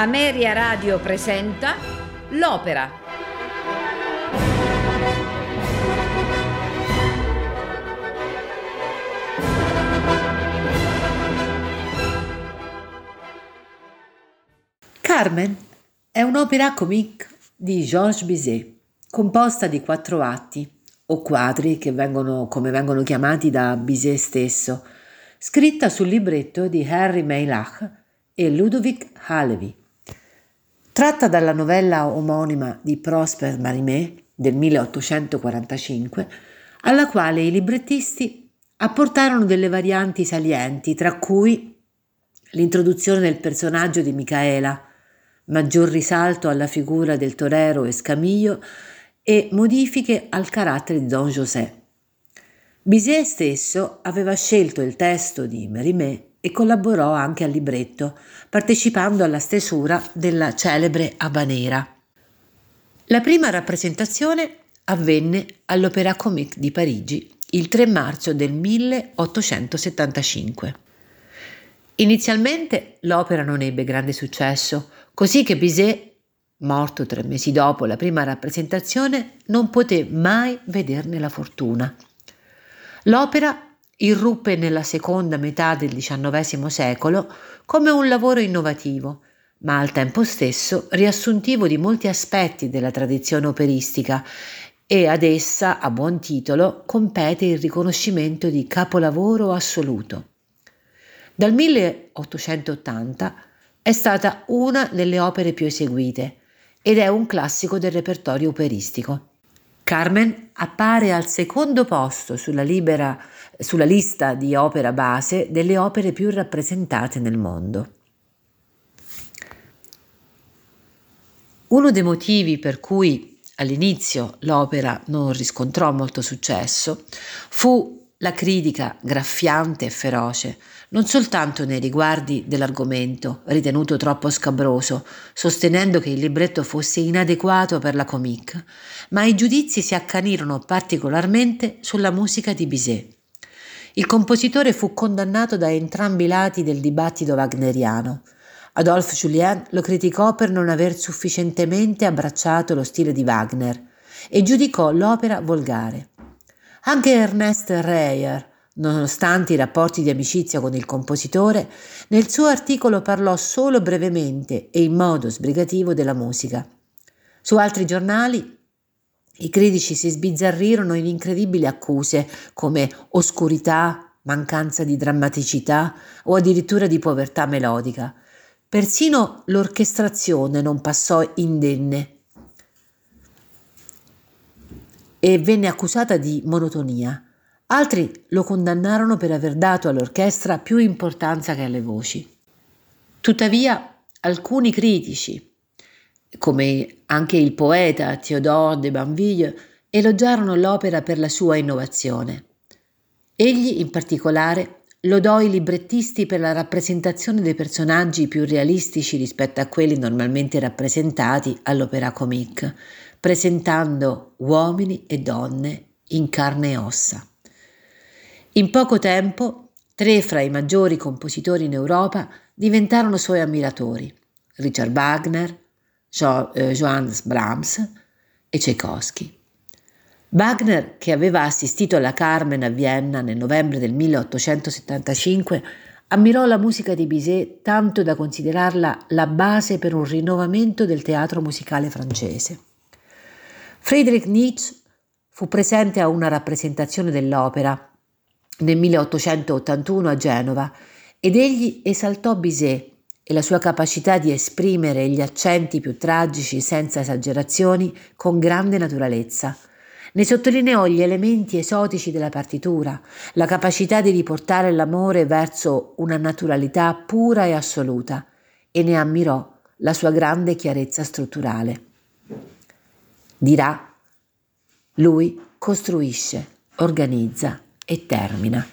Ameria Radio presenta L'Opera. Carmen è un'opera comique di Georges Bizet, composta di 4 atti, o quadri come vengono chiamati da Bizet stesso, scritta sul libretto di Henri Meilhac e Ludovic Halevi. Tratta dalla novella omonima di Prosper Mérimée del 1845, alla quale i librettisti apportarono delle varianti salienti, tra cui l'introduzione del personaggio di Micaela, maggior risalto alla figura del torero Escamillo e modifiche al carattere di Don José. Bizet stesso aveva scelto il testo di Mérimée e collaborò anche al libretto, partecipando alla stesura della celebre Habanera. La prima rappresentazione avvenne all'Opéra Comique di Parigi il 3 marzo del 1875. Inizialmente l'opera non ebbe grande successo, così che Bizet, morto 3 mesi dopo la prima rappresentazione, non poté mai vederne la fortuna. L'opera irruppe nella seconda metà del XIX secolo come un lavoro innovativo, ma al tempo stesso riassuntivo di molti aspetti della tradizione operistica, e ad essa, a buon titolo, compete il riconoscimento di capolavoro assoluto. Dal 1880 è stata una delle opere più eseguite ed è un classico del repertorio operistico. Carmen appare al secondo posto sulla lista di opera base delle opere più rappresentate nel mondo. Uno dei motivi per cui all'inizio l'opera non riscontrò molto successo fu la critica graffiante e feroce, non soltanto nei riguardi dell'argomento, ritenuto troppo scabroso, sostenendo che il libretto fosse inadeguato per la comique, ma i giudizi si accanirono particolarmente sulla musica di Bizet. Il compositore fu condannato da entrambi i lati del dibattito wagneriano. Adolphe Julien lo criticò per non aver sufficientemente abbracciato lo stile di Wagner e giudicò l'opera volgare. Anche Ernest Reyer, nonostante i rapporti di amicizia con il compositore, nel suo articolo parlò solo brevemente e in modo sbrigativo della musica. Su altri giornali i critici si sbizzarrirono in incredibili accuse come oscurità, mancanza di drammaticità o addirittura di povertà melodica. Persino l'orchestrazione non passò indenne e venne accusata di monotonia. Altri lo condannarono per aver dato all'orchestra più importanza che alle voci. Tuttavia, alcuni critici, come anche il poeta Théodore de Banville, elogiarono l'opera per la sua innovazione. Egli, in particolare, lodò i librettisti per la rappresentazione dei personaggi più realistici rispetto a quelli normalmente rappresentati all'opéra comique, presentando uomini e donne in carne e ossa. In poco tempo, 3 fra i maggiori compositori in Europa diventarono suoi ammiratori: Richard Wagner, Johannes Brahms e Tchaikovsky. Wagner, che aveva assistito alla Carmen a Vienna nel novembre del 1875, ammirò la musica di Bizet tanto da considerarla la base per un rinnovamento del teatro musicale francese. Friedrich Nietzsche fu presente a una rappresentazione dell'opera nel 1881 a Genova ed egli esaltò Bizet e la sua capacità di esprimere gli accenti più tragici senza esagerazioni con grande naturalezza. Ne sottolineò gli elementi esotici della partitura, la capacità di riportare l'amore verso una naturalità pura e assoluta, e ne ammirò la sua grande chiarezza strutturale. Dirà: lui costruisce, organizza e termina.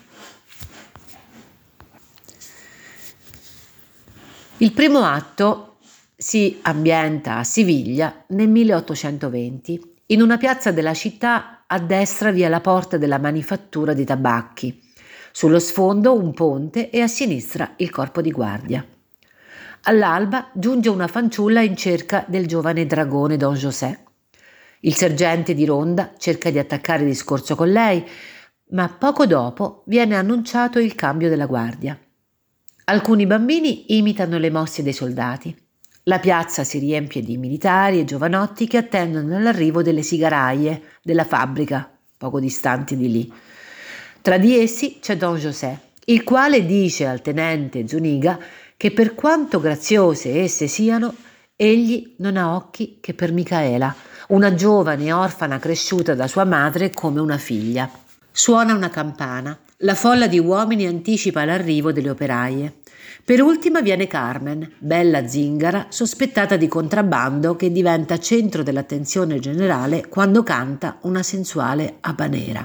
Il primo atto si ambienta a Siviglia nel 1820, in una piazza della città. A destra vi è la porta della manifattura dei tabacchi, sullo sfondo un ponte e a sinistra il corpo di guardia. All'alba giunge una fanciulla in cerca del giovane dragone Don José. Il sergente di ronda cerca di attaccare discorso con lei, ma poco dopo viene annunciato il cambio della guardia. Alcuni bambini imitano le mosse dei soldati. La piazza si riempie di militari e giovanotti che attendono l'arrivo delle sigaraie della fabbrica, poco distanti di lì. Tra di essi c'è Don José, il quale dice al tenente Zuniga che per quanto graziose esse siano, egli non ha occhi che per Micaela, una giovane orfana cresciuta da sua madre come una figlia. Suona una campana. La folla di uomini anticipa l'arrivo delle operaie. Per ultima viene Carmen, bella zingara, sospettata di contrabbando che diventa centro dell'attenzione generale quando canta una sensuale habanera.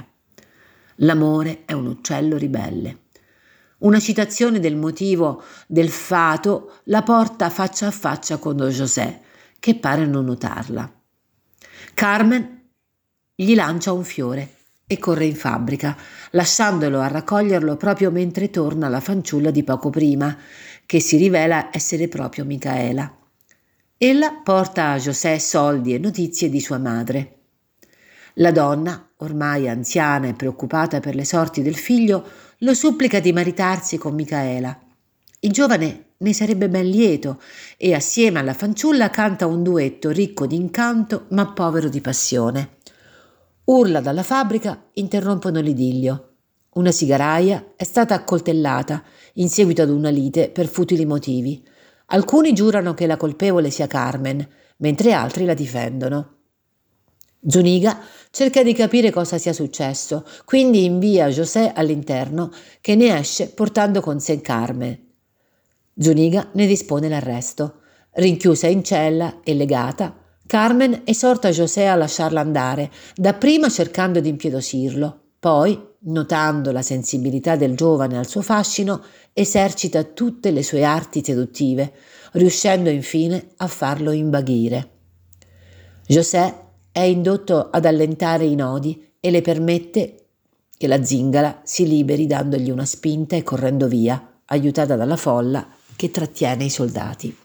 L'amore è un uccello ribelle. Una citazione del motivo del fato la porta faccia a faccia con Don José, che pare non notarla. Carmen gli lancia un fiore e corre in fabbrica, lasciandolo a raccoglierlo proprio mentre torna la fanciulla di poco prima, che si rivela essere proprio Micaela. Ella porta a José soldi e notizie di sua madre. La donna, ormai anziana e preoccupata per le sorti del figlio, lo supplica di maritarsi con Micaela. Il giovane ne sarebbe ben lieto e assieme alla fanciulla canta un duetto ricco di incanto ma povero di passione. Urla dalla fabbrica interrompono l'idillio. Una sigaraia è stata accoltellata in seguito ad una lite per futili motivi. Alcuni giurano che la colpevole sia Carmen, mentre altri la difendono. Zuniga cerca di capire cosa sia successo, quindi invia José all'interno, che ne esce portando con sé Carmen. Zuniga ne dispone l'arresto. Rinchiusa in cella e legata, Carmen esorta José a lasciarla andare, dapprima cercando di impietosirlo, poi, notando la sensibilità del giovane al suo fascino, esercita tutte le sue arti seduttive, riuscendo infine a farlo invaghire. José è indotto ad allentare i nodi e le permette che la zingara si liberi dandogli una spinta e correndo via, aiutata dalla folla che trattiene i soldati.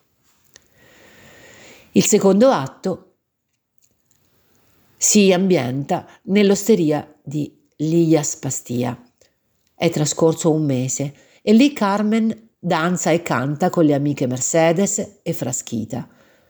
Il secondo atto si ambienta nell'osteria di Lias Pastia. È trascorso un mese e lì Carmen danza e canta con le amiche Mercedes e Frasquita.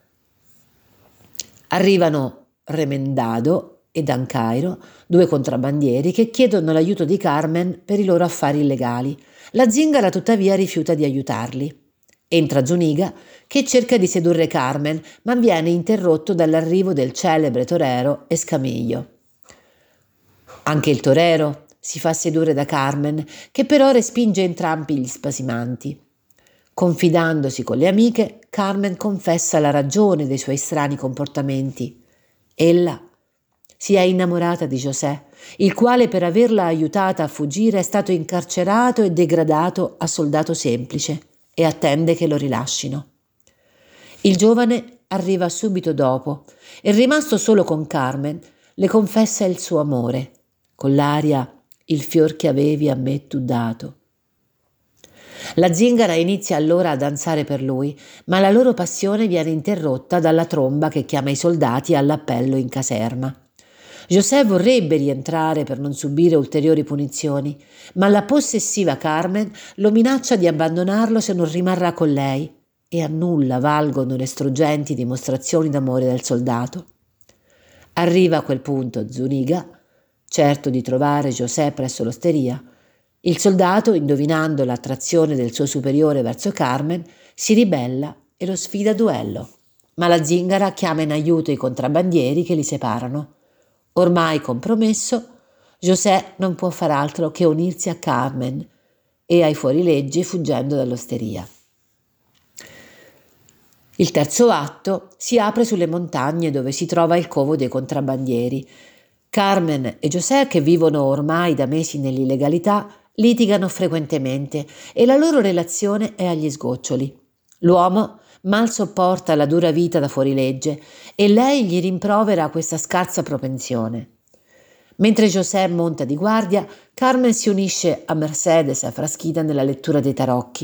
Arrivano Remendado e Dancairo, due contrabbandieri che chiedono l'aiuto di Carmen per i loro affari illegali. La zingara tuttavia rifiuta di aiutarli. Entra Zuniga che cerca di sedurre Carmen, ma viene interrotto dall'arrivo del celebre torero Escamillo. Anche il torero si fa sedurre da Carmen, che però respinge entrambi gli spasimanti. Confidandosi con le amiche, Carmen confessa la ragione dei suoi strani comportamenti. Ella si è innamorata di José, il quale per averla aiutata a fuggire è stato incarcerato e degradato a soldato semplice e attende che lo rilascino. Il giovane arriva subito dopo e, rimasto solo con Carmen, le confessa il suo amore, con l'aria «Il fior che avevi a me tu dato». La zingara inizia allora a danzare per lui, ma la loro passione viene interrotta dalla tromba che chiama i soldati all'appello in caserma. José vorrebbe rientrare per non subire ulteriori punizioni, ma la possessiva Carmen lo minaccia di abbandonarlo se non rimarrà con lei, e a nulla valgono le struggenti dimostrazioni d'amore del soldato. Arriva a quel punto Zuniga, certo di trovare José presso l'osteria. Il soldato, indovinando l'attrazione del suo superiore verso Carmen, si ribella e lo sfida a duello, ma la zingara chiama in aiuto i contrabbandieri che li separano. Ormai compromesso, José non può far altro che unirsi a Carmen e ai fuorilegge fuggendo dall'osteria. Il terzo atto si apre sulle montagne dove si trova il covo dei contrabbandieri. Carmen e José, che vivono ormai da mesi nell'illegalità, litigano frequentemente e la loro relazione è agli sgoccioli. L'uomo mal sopporta la dura vita da fuorilegge e lei gli rimprovera questa scarsa propensione. Mentre José monta di guardia, Carmen si unisce a Mercedes e a Frasquita nella lettura dei tarocchi.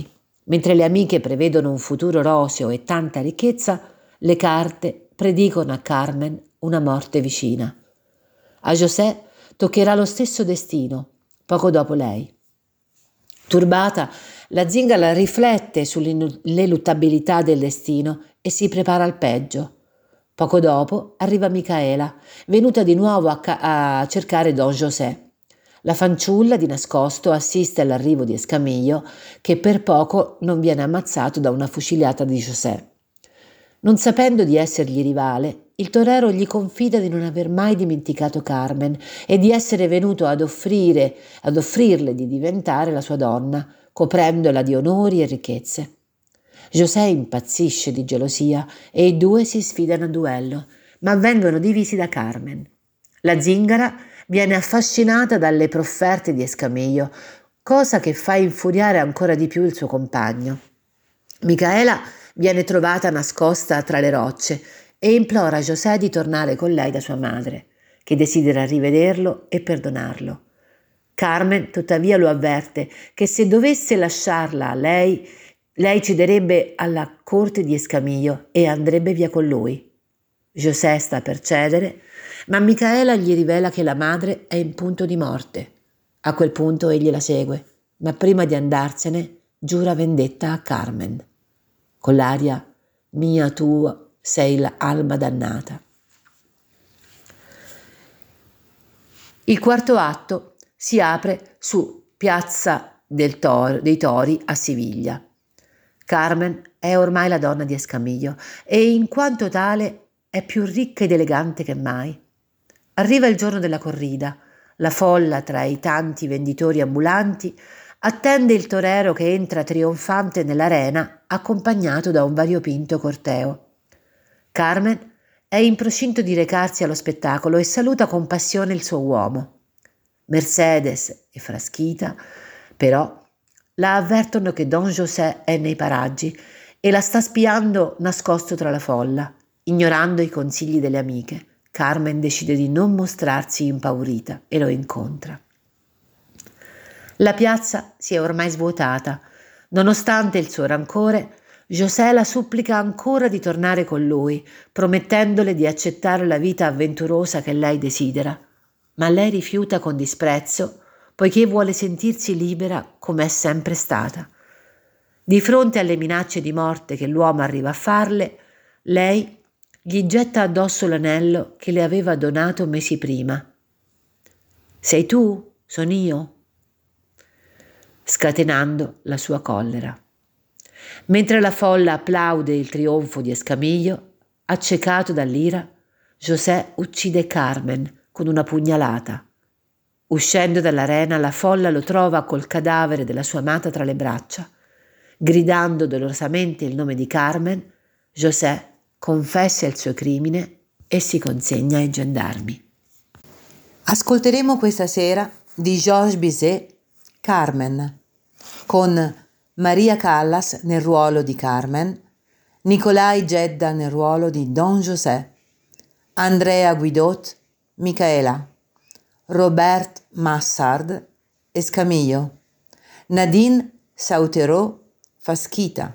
Mentre le amiche prevedono un futuro roseo e tanta ricchezza, le carte predicono a Carmen una morte vicina. A José toccherà lo stesso destino, poco dopo lei. Turbata, la zingara riflette sull'ineluttabilità del destino e si prepara al peggio. Poco dopo arriva Micaela, venuta di nuovo a cercare Don José. La fanciulla di nascosto assiste all'arrivo di Escamillo, che per poco non viene ammazzato da una fuciliata di José. Non sapendo di essergli rivale, il torero gli confida di non aver mai dimenticato Carmen e di essere venuto ad offrirle di diventare la sua donna, coprendola di onori e ricchezze. José impazzisce di gelosia e i due si sfidano a duello, ma vengono divisi da Carmen. La zingara viene affascinata dalle profferte di Escamillo, cosa che fa infuriare ancora di più il suo compagno. Micaela viene trovata nascosta tra le rocce e implora José di tornare con lei da sua madre, che desidera rivederlo e perdonarlo. Carmen tuttavia lo avverte che se dovesse lasciarla a lei cederebbe alla corte di Escamillo e andrebbe via con lui. José sta per cedere, ma Micaela gli rivela che la madre è in punto di morte. A quel punto egli la segue, ma prima di andarsene giura vendetta a Carmen, con l'aria «Mia tua sei l'alma dannata». Il quarto atto si apre su Piazza dei Tori a Siviglia. Carmen è ormai la donna di Escamillo e in quanto tale è più ricca ed elegante che mai. Arriva il giorno della corrida, la folla tra i tanti venditori ambulanti attende il torero che entra trionfante nell'arena accompagnato da un variopinto corteo. Carmen è in procinto di recarsi allo spettacolo e saluta con passione il suo uomo. Mercedes e Frasquita, però, la avvertono che Don José è nei paraggi e la sta spiando nascosto tra la folla. Ignorando i consigli delle amiche, Carmen decide di non mostrarsi impaurita e lo incontra. La piazza si è ormai svuotata. Nonostante il suo rancore, José la supplica ancora di tornare con lui, promettendole di accettare la vita avventurosa che lei desidera, ma lei rifiuta con disprezzo, poiché vuole sentirsi libera come è sempre stata. Di fronte alle minacce di morte che l'uomo arriva a farle, lei gli getta addosso l'anello che le aveva donato mesi prima. «Sei tu? Sono io?» scatenando la sua collera. Mentre la folla applaude il trionfo di Escamillo, accecato dall'ira, José uccide Carmen con una pugnalata. Uscendo dall'arena, la folla lo trova col cadavere della sua amata tra le braccia. Gridando dolorosamente il nome di Carmen, José confessa il suo crimine e si consegna ai gendarmi. Ascolteremo questa sera di Georges Bizet Carmen, con Maria Callas nel ruolo di Carmen, Nicolai Gedda nel ruolo di Don José, Andrea Guidot, Micaela, Robert Massard, Escamillo, Nadine Sauterot, Frasquita,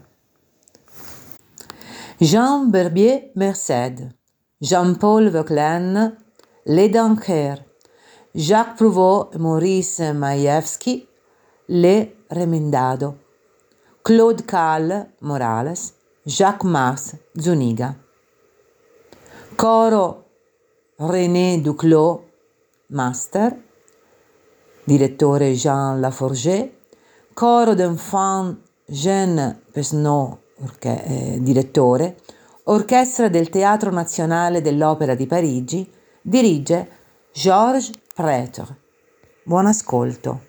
Jean Berbier Merced, Jean-Paul Vauquelin, Les Dankers, Jacques Prouvost, Maurice Maïevski, Le Remendado, Claude Cal Morales, Jacques Mars Zuniga. Coro René Duclos, Master, direttore Jean Laforget. Coro d'enfants Jean Pesnot, direttore. Orchestra del Teatro Nazionale dell'Opera di Parigi, dirige Georges Prêtre. Buon ascolto.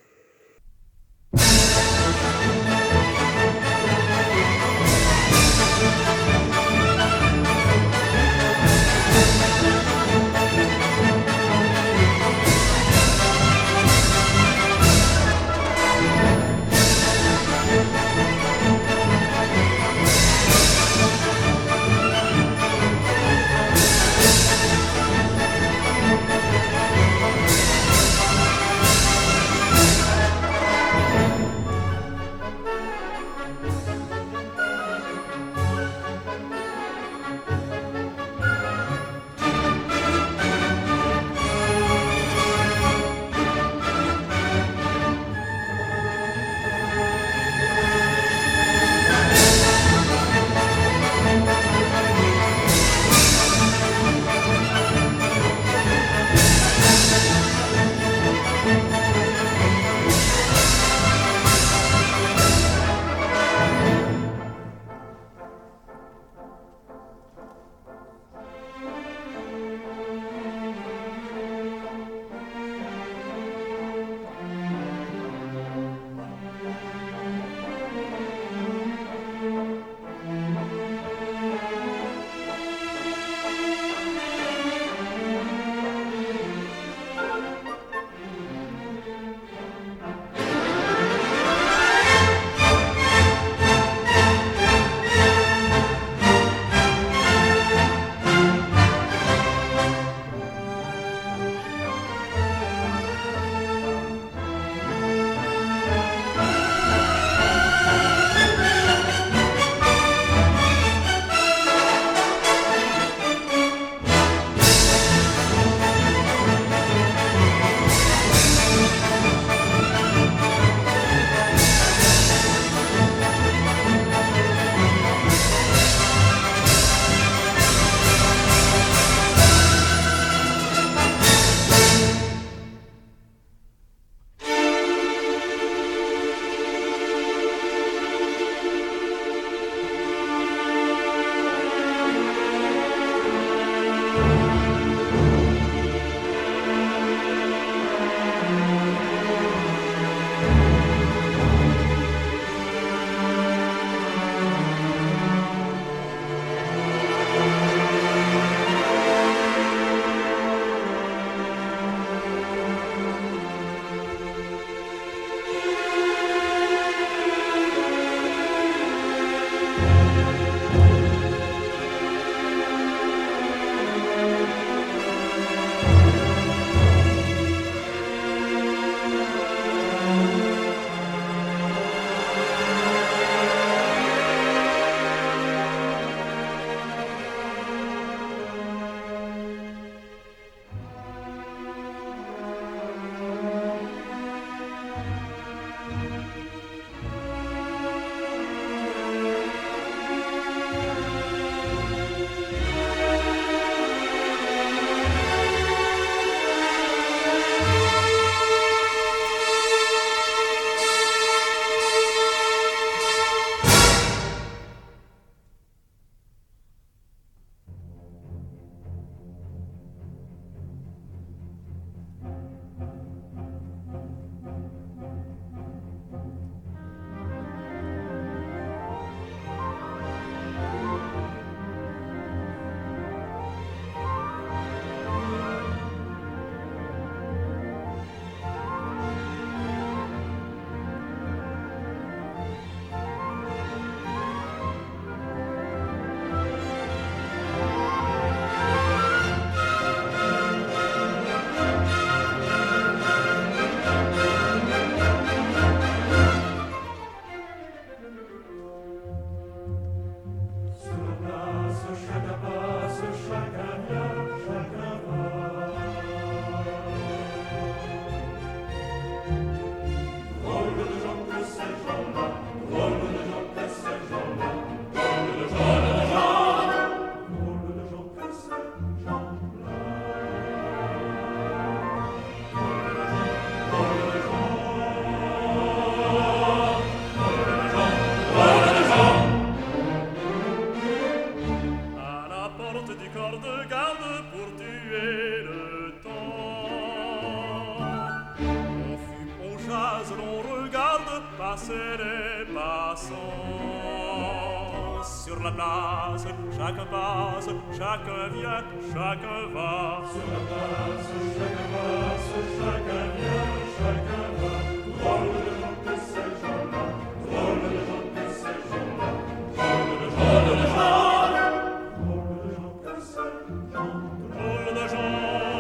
porte du corps de garde pour tuer le temps. On fume, on jase, l'on regarde passer les passants. Sur la place, chacun passe, chacun vient, chacun va. Sur la place, chacun passe, chacun vient, chacun va. Drôle de gens que ces gens-là, drôle de gens que ces gens-là, drôle de gens, drôle de gens, drôle de gens que ces gens, drôle de gens,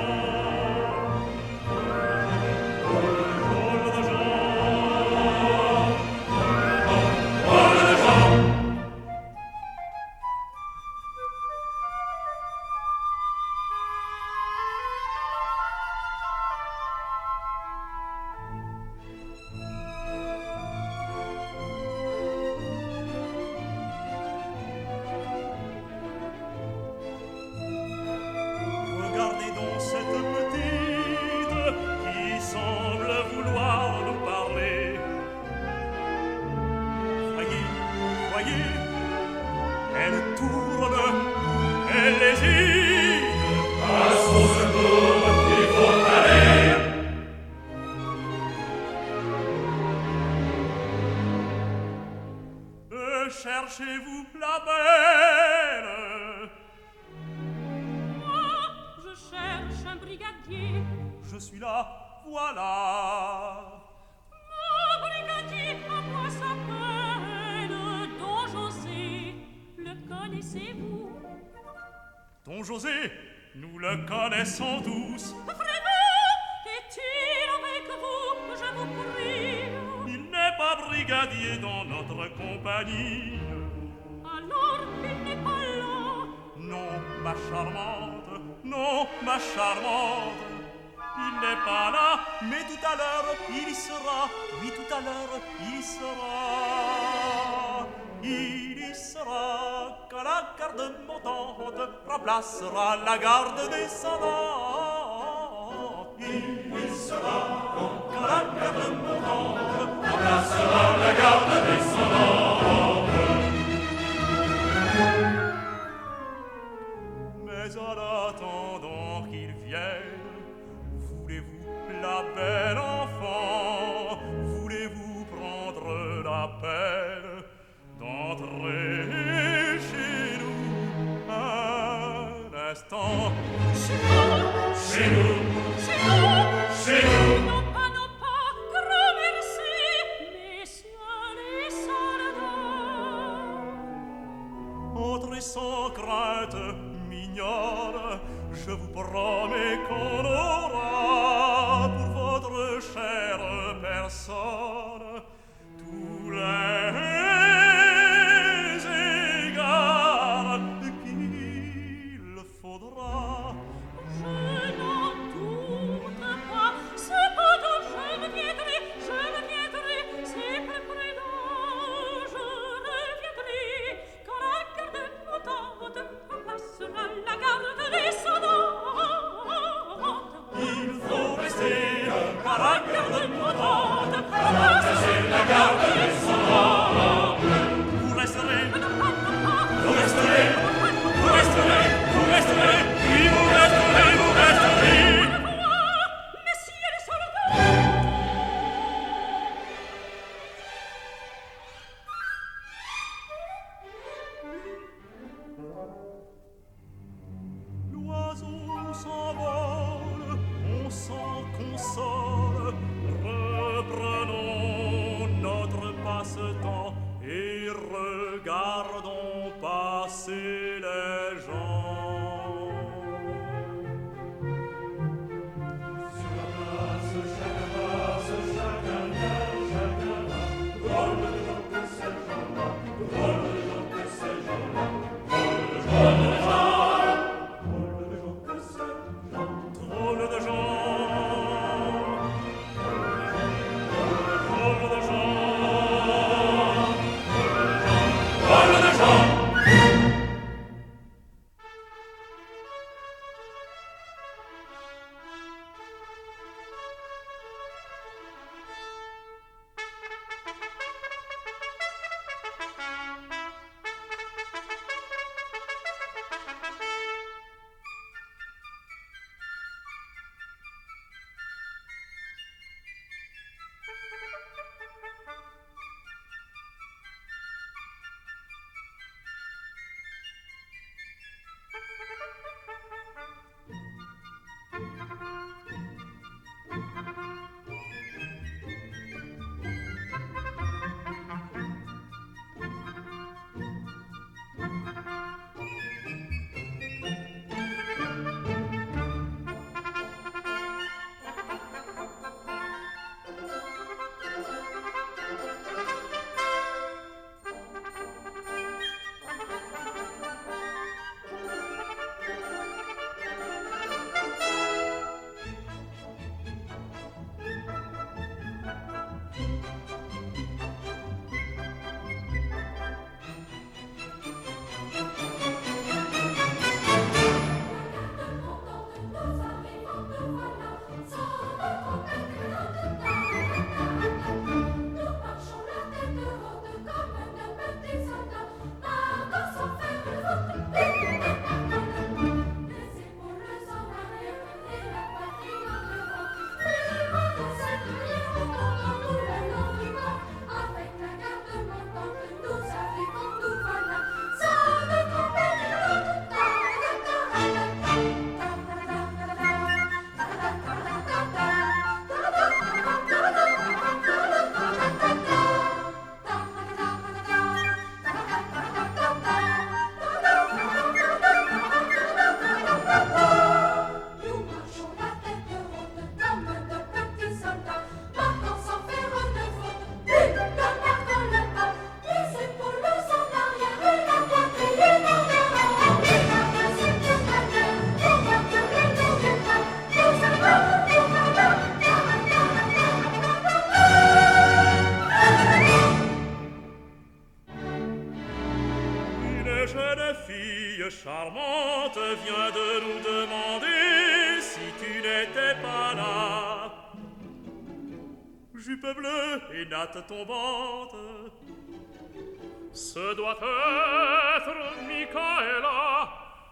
drôle de gens, drôle de gens. Regardez donc cette petite qui semble vouloir nous parler. Voyez, voyez, elle tourne, elle hésite. À son secours, il faut aller. Cherchez-vous la belle? Je cherche un brigadier. Je suis là, voilà. Mon brigadier, à moi s'appelle Don José. Le connaissez-vous? Don José, nous le connaissons tous. Vraiment? Est-il avec vous? Je vous prie. Il n'est pas brigadier dans notre compagnie. Alors, il n'est pas là. Non, ma charmante, non, ma charmante. Il n'est pas là, mais tout à l'heure, il y sera. Oui, tout à l'heure, il y sera. Il y sera quand la garde montante remplacera la garde descendante. Il y sera quand la garde montante remplacera la garde descendante. Mais en attendant qu'il vienne, voulez-vous la belle enfant, voulez-vous prendre la peine d'entrer chez nous un instant? Chez nous, Chez nous, chez nous, chez nous. non pas, grand merci, messieurs les soldats. Entrez sans crainte, mignonne, je vous promets qu'on aura pour votre chère personne tous les égards qu'il faudra. Je n'en doute pas, cependant je reviendrai, c'est plus prudent, je reviendrai, quand la garde montante remplacera la garde descendante. Il faut rester à la garde montante. vient de nous demander si tu n'étais pas là. Jupe bleue et natte tombante, ce doit être Michaela.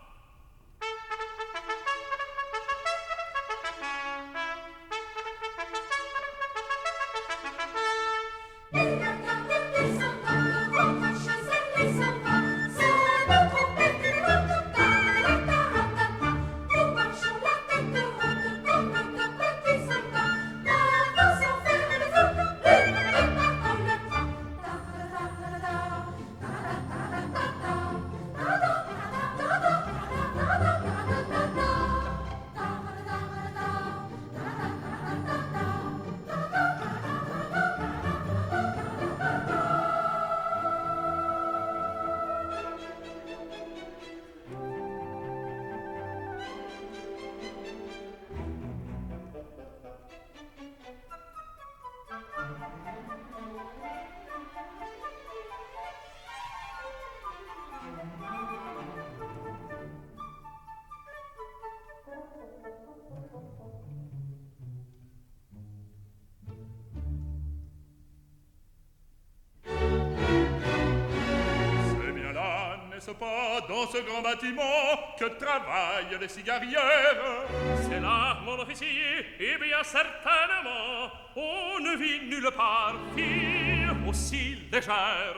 Pas dans ce grand bâtiment que travaillent les cigarières. C'est là, mon officier, et bien certainement, on ne vit nulle part fille aussi légère.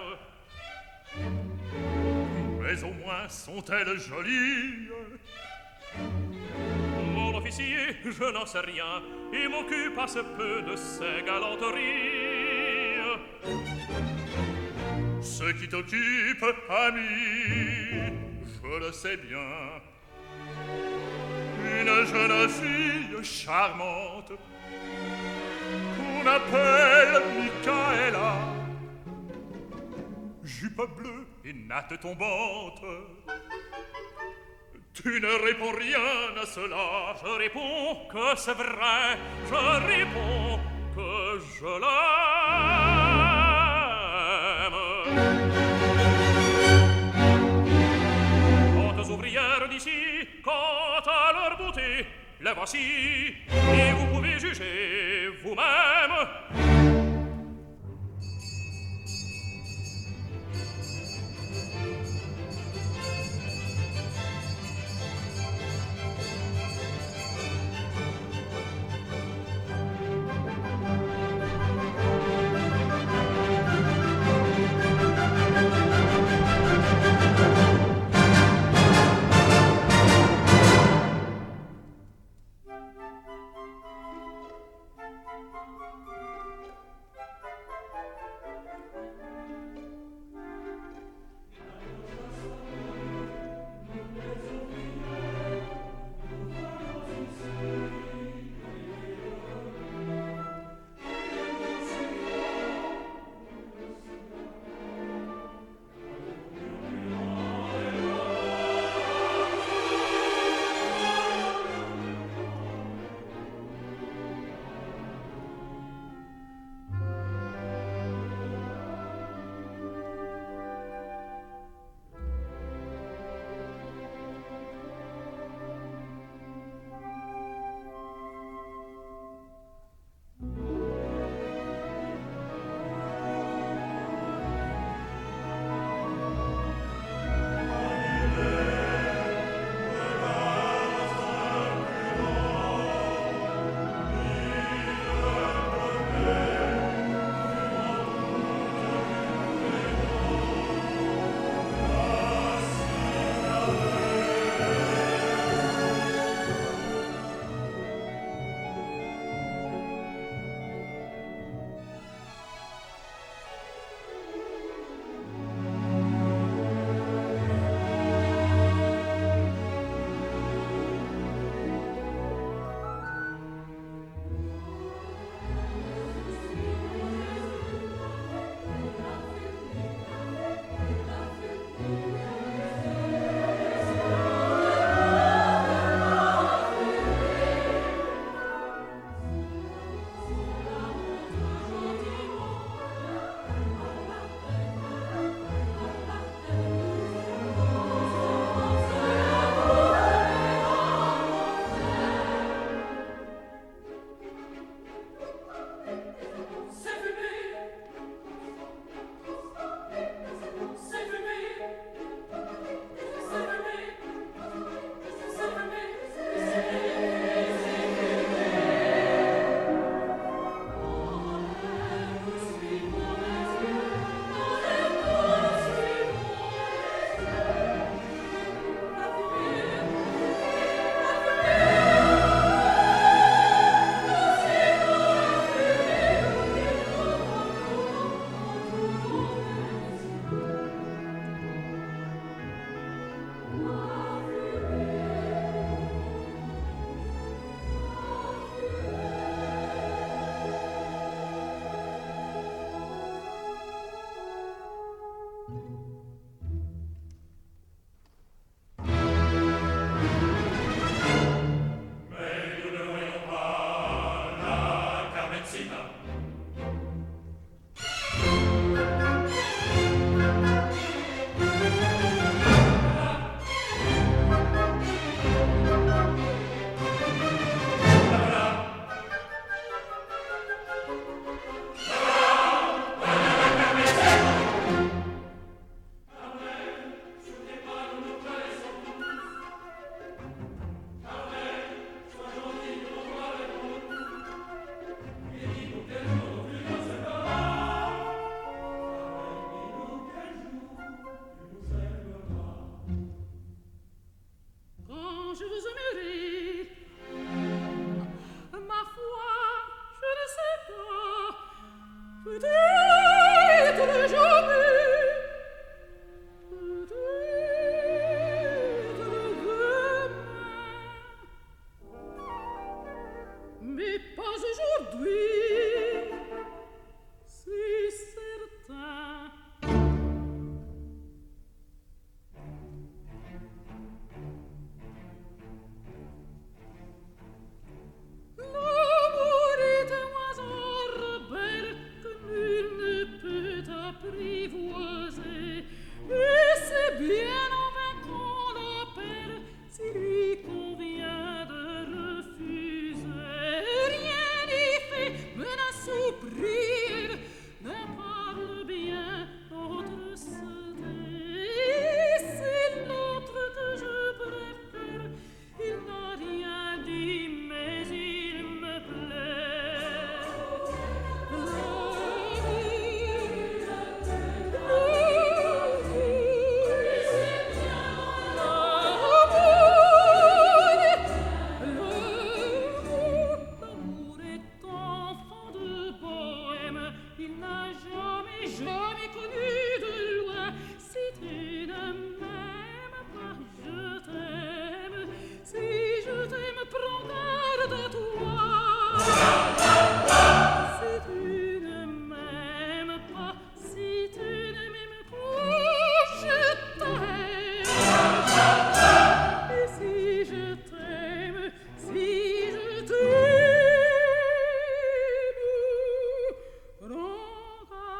Mais au moins sont-elles jolies. Mon officier, je n'en sais rien, et m'occupe assez peu de ces galanteries. Ce qui t'occupe, ami, je le sais bien. Une jeune fille charmante qu'on appelle Michaela. Jupe bleue et natte tombante. Tu ne réponds rien à cela. Je réponds que c'est vrai. Je réponds que je l'aime. Quant aux ouvrières d'ici, quant à leur beauté, les voici, et vous pouvez juger vous-même. je vous aimerai. Ma foi, je ne sais pas. Peut-être jamais. Peut-être demain. Mais pas aujourd'hui. C'est certain. L'amour est un oiseau rebelle que nul ne peut apprivoiser. Et c'est bien en vain qu'on l'appelle s'il lui convient de refuser. Rien n'y fait, menace ou prière, n'en parle bien, l'autre se tait. C'est l'autre que je préfère. Il n'a rien dit, mais il me plaît. L'amour est enfant de bohème. Il n'a jamais, jamais connu de loi. Si tu ne m'aimes pas, je t'aime. Si je t'aime, prends garde à toi. Si tu ne m'aimes pas, si tu ne m'aimes pas, je t'aime. Et si je t'aime, si je t'aime, prends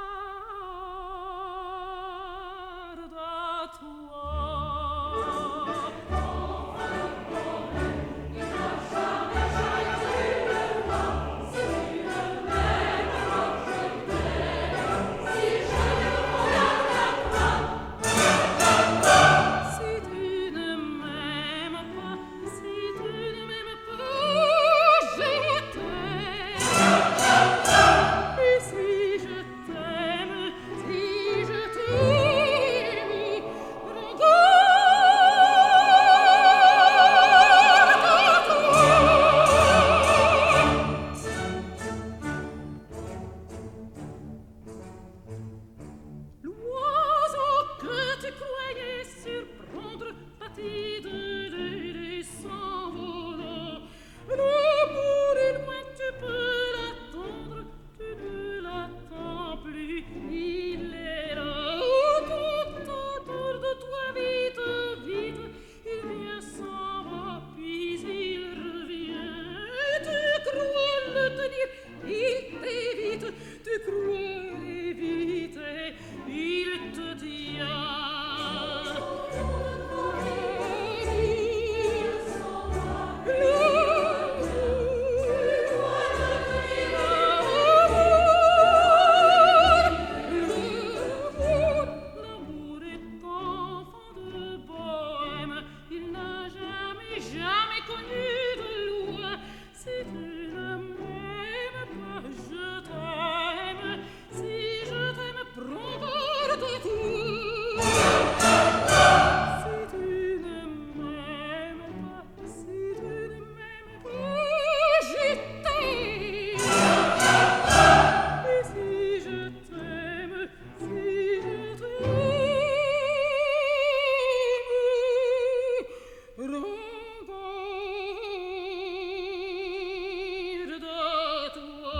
garde à toi. Si tu ne m'aimes pas, si tu ne m'aimes pas, je t'aime. Et si je t'aime, si je t'aime, prends garde à toi. L'oiseau que tu croyais surprendre pâtit de l'aider s'envolant. L'amour est loin, tu peux l'attendre, tu ne l'attends plus, il est là. Tout autour de toi, vite, vite, il vient, s'en va, puis il revient. Tu crois le tenir, il t'évite, tu crois l'éviter, il te tient. L'amour est enfant de bohème. Il n'a jamais, jamais connu de loi. Si tu ne m'aimes pas, je t'aime. Si je t'aime, prends garde à toi. Si tu ne m'aimes pas, si tu ne m'aimes pas, je t'aime. Et si je t'aime, si je t'aime, prends garde à toi.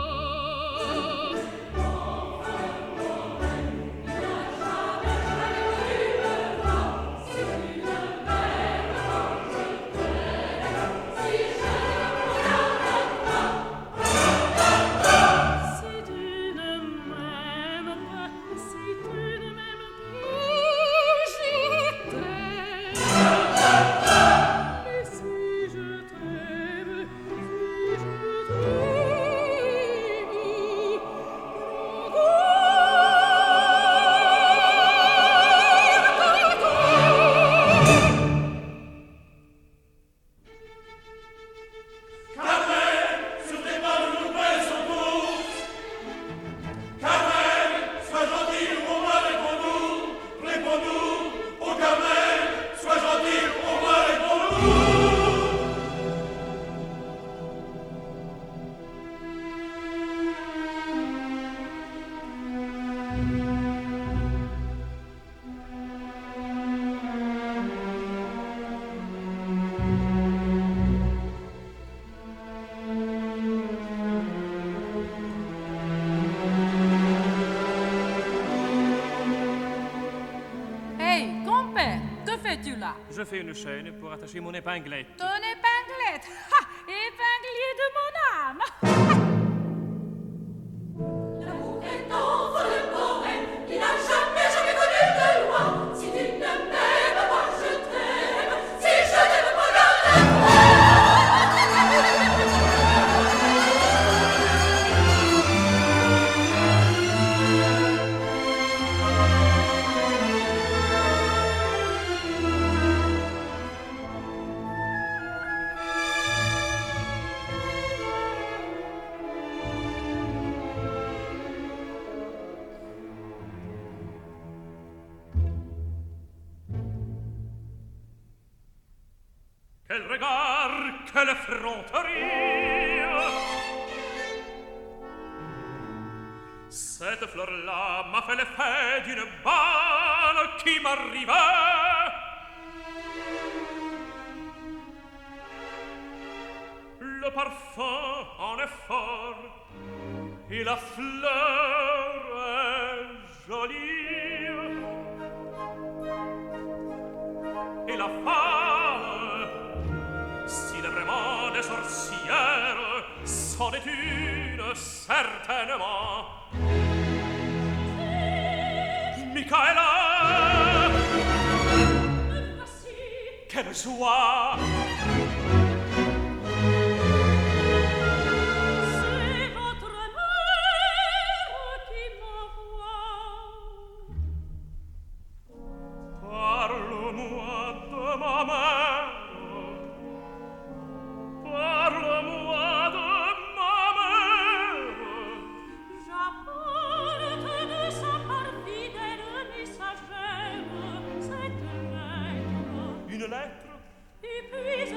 Si tu ne m'aimes pas, si tu ne m'aimes pas, je t'aime. Et si Je fais une chaîne pour attacher mon épinglette. Ton épinglette. Ha! Épinglier de mon âme. L'amour est enfant le poème. Il n'a jamais connu de loi. Si tu ne m'aimes pas, je t'aime. Si je t'aime pas, Quel regard, quelle effronterie! Cette fleur-là m'a fait l'effet d'une balle qui m'arrivait. Le parfum en est fort et la fleur est jolie. Et la femme, s'il est vraiment des sorcières, c'en est une certainement. Michaela, quelle joie! C'est votre mère qui m'envoie. Parle-moi de ma mère. Parle-moi de ma mère. J'apporte de sa part fidèle messagère cette lettre. Une lettre? Et puis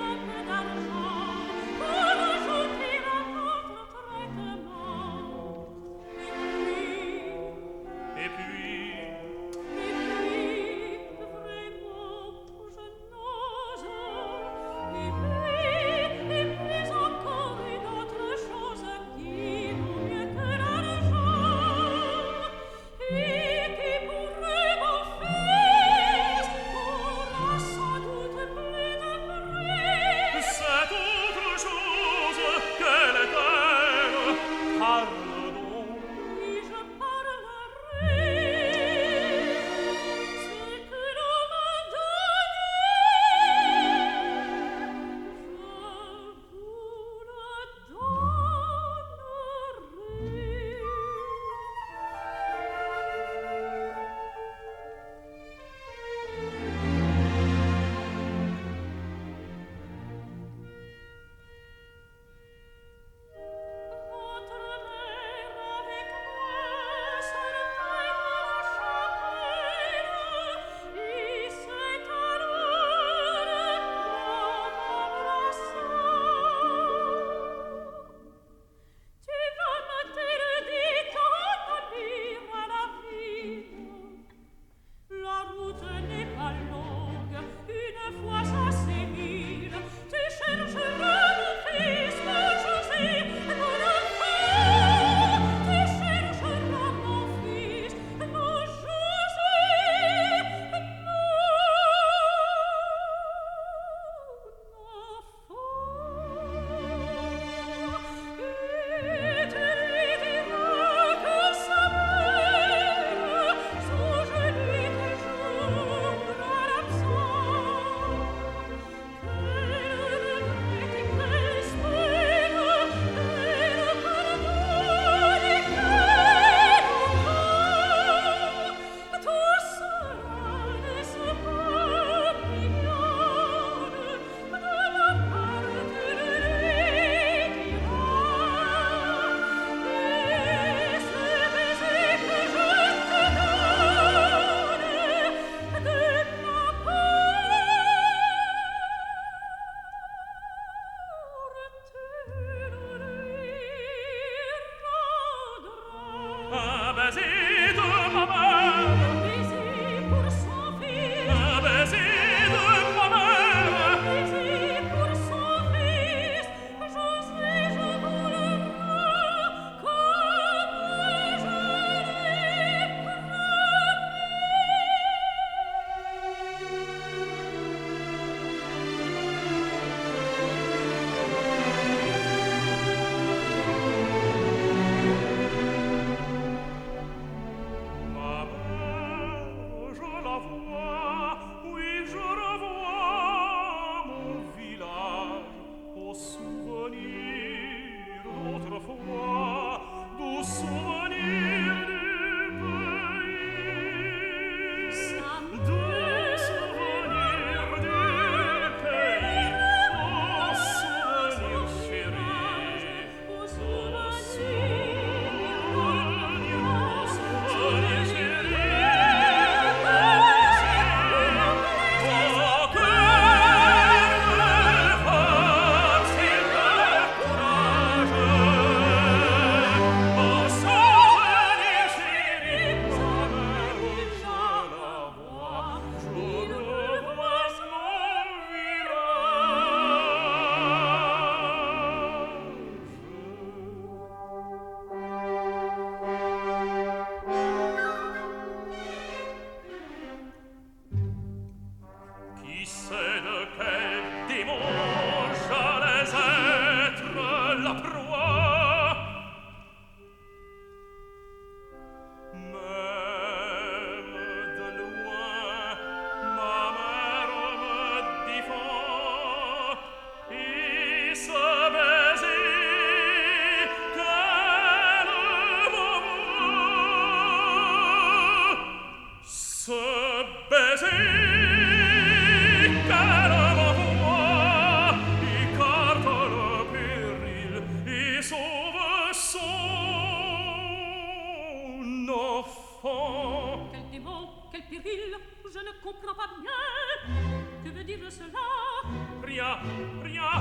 rien, rien.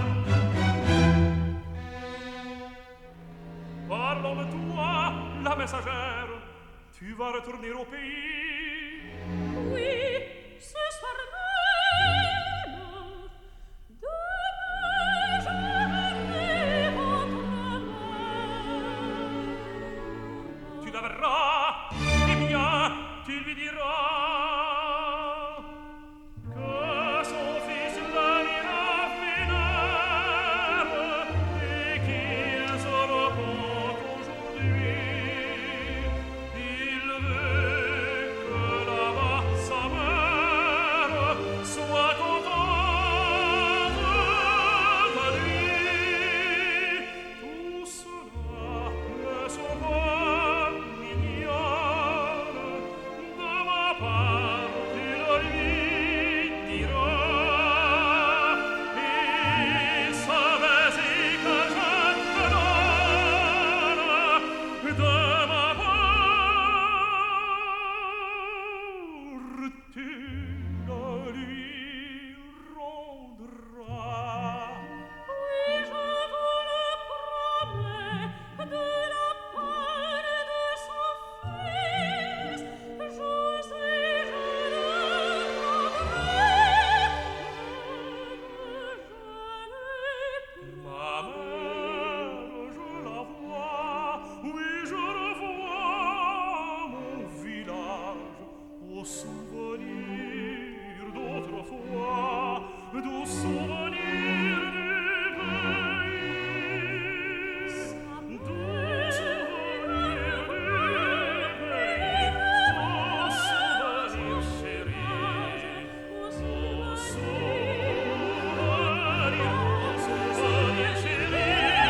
Parlons de toi, la messagère. Tu vas retourner au pays. Oui, ce soir même. Demain, je verrai votre mère. Tu la verras, eh bien, tu lui diras que son fils l'amira vénère et qu'il se repent aujourd'hui. Il veut que là-bas sa mère soit contente de lui. Tout cela me sauva mignonne. De ma part, tu le lui diras. Et savais-y que je te donne de ma part, tu le lui rendras. Oui, je vous le promets, de la part de son fils, José, je le rendrai. Ma mère, je la vois, oui, je revois mon village au souvenir d'autrefois, doux souvenir du pays, doux souvenir du pays, doux souvenir chéri, doux souvenir chéri,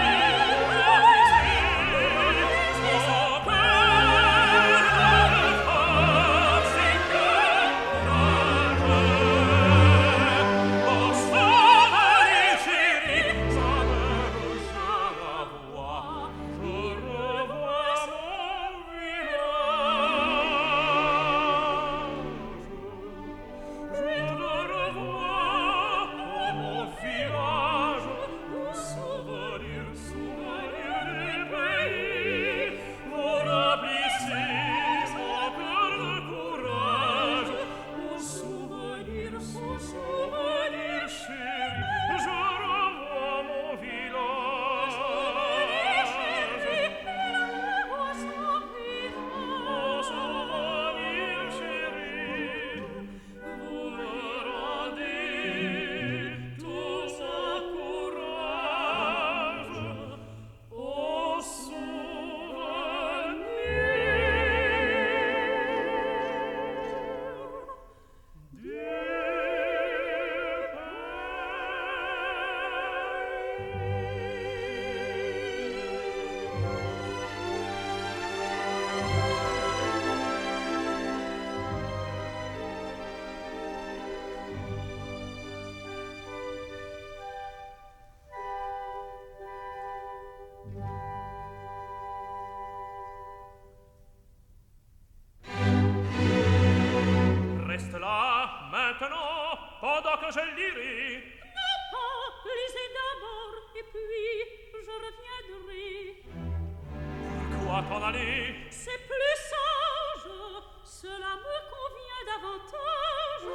Reste là, maintenant, pendant que je lirai. Non, lisez d'abord, et puis je reviendrai. Pourquoi t'en aller? C'est plus sage, cela me convient davantage.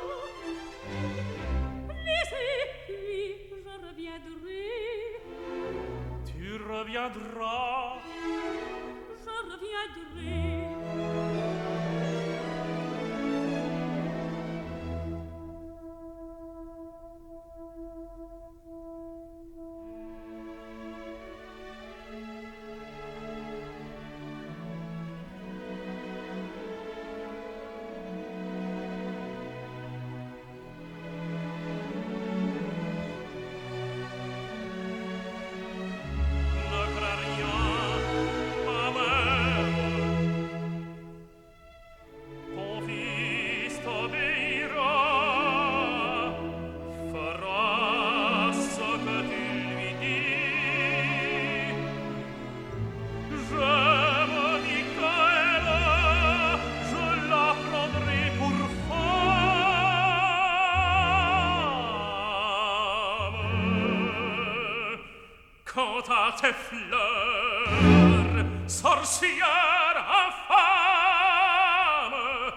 Lisez, puis je reviendrai. Tu reviendras. Je reviendrai. Ne crains rien. quant à tes fleurs, sorcière infâme.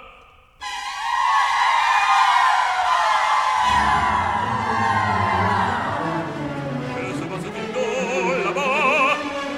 Que se passe-t-il donc là-bas?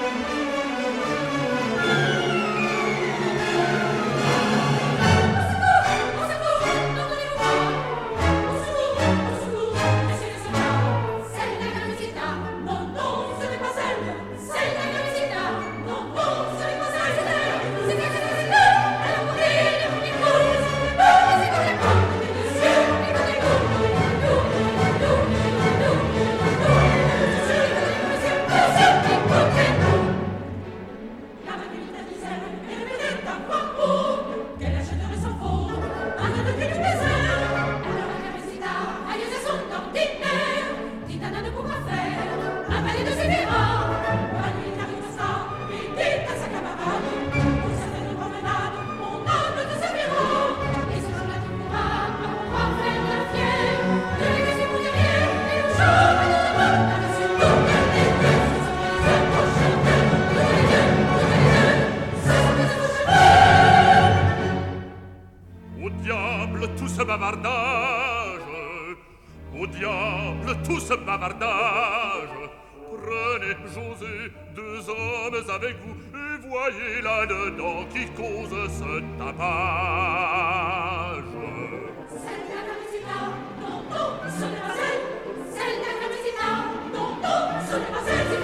Au diable tout ce bavardage. Prenez, José, 2 hommes avec vous et voyez là-dedans qui cause ce tapage. C'est la capacità, non, non, ce n'est pas elle. C'est la capacità, non, non, ce n'est pas elle.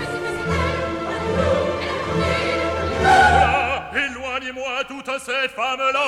Voilà, éloignez-moi toutes ces femmes-là.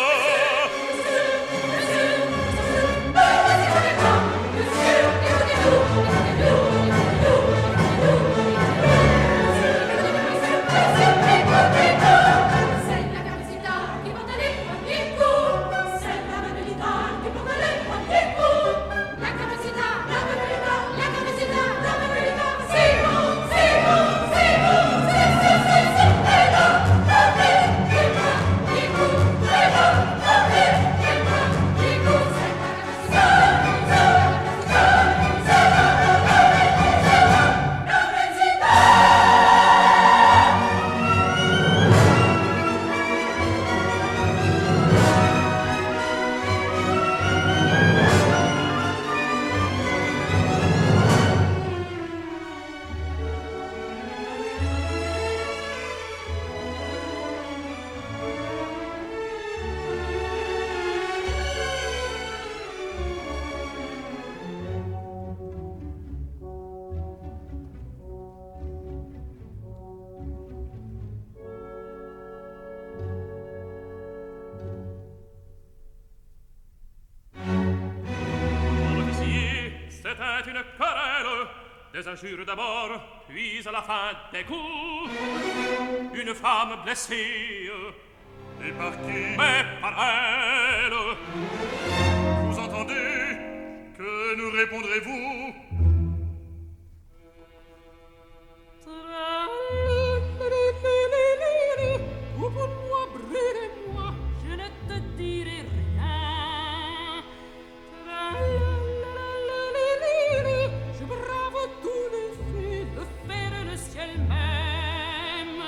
C'était une querelle, des injures d'abord, puis à la fin des coups. Une femme blessée. Et par qui? Mais par elle. Vous entendez? Que nous répondrez-vous? Coupe-moi, brûlez-moi, je ne te dirai rien. Je brave tous les feux, le fer et le ciel même.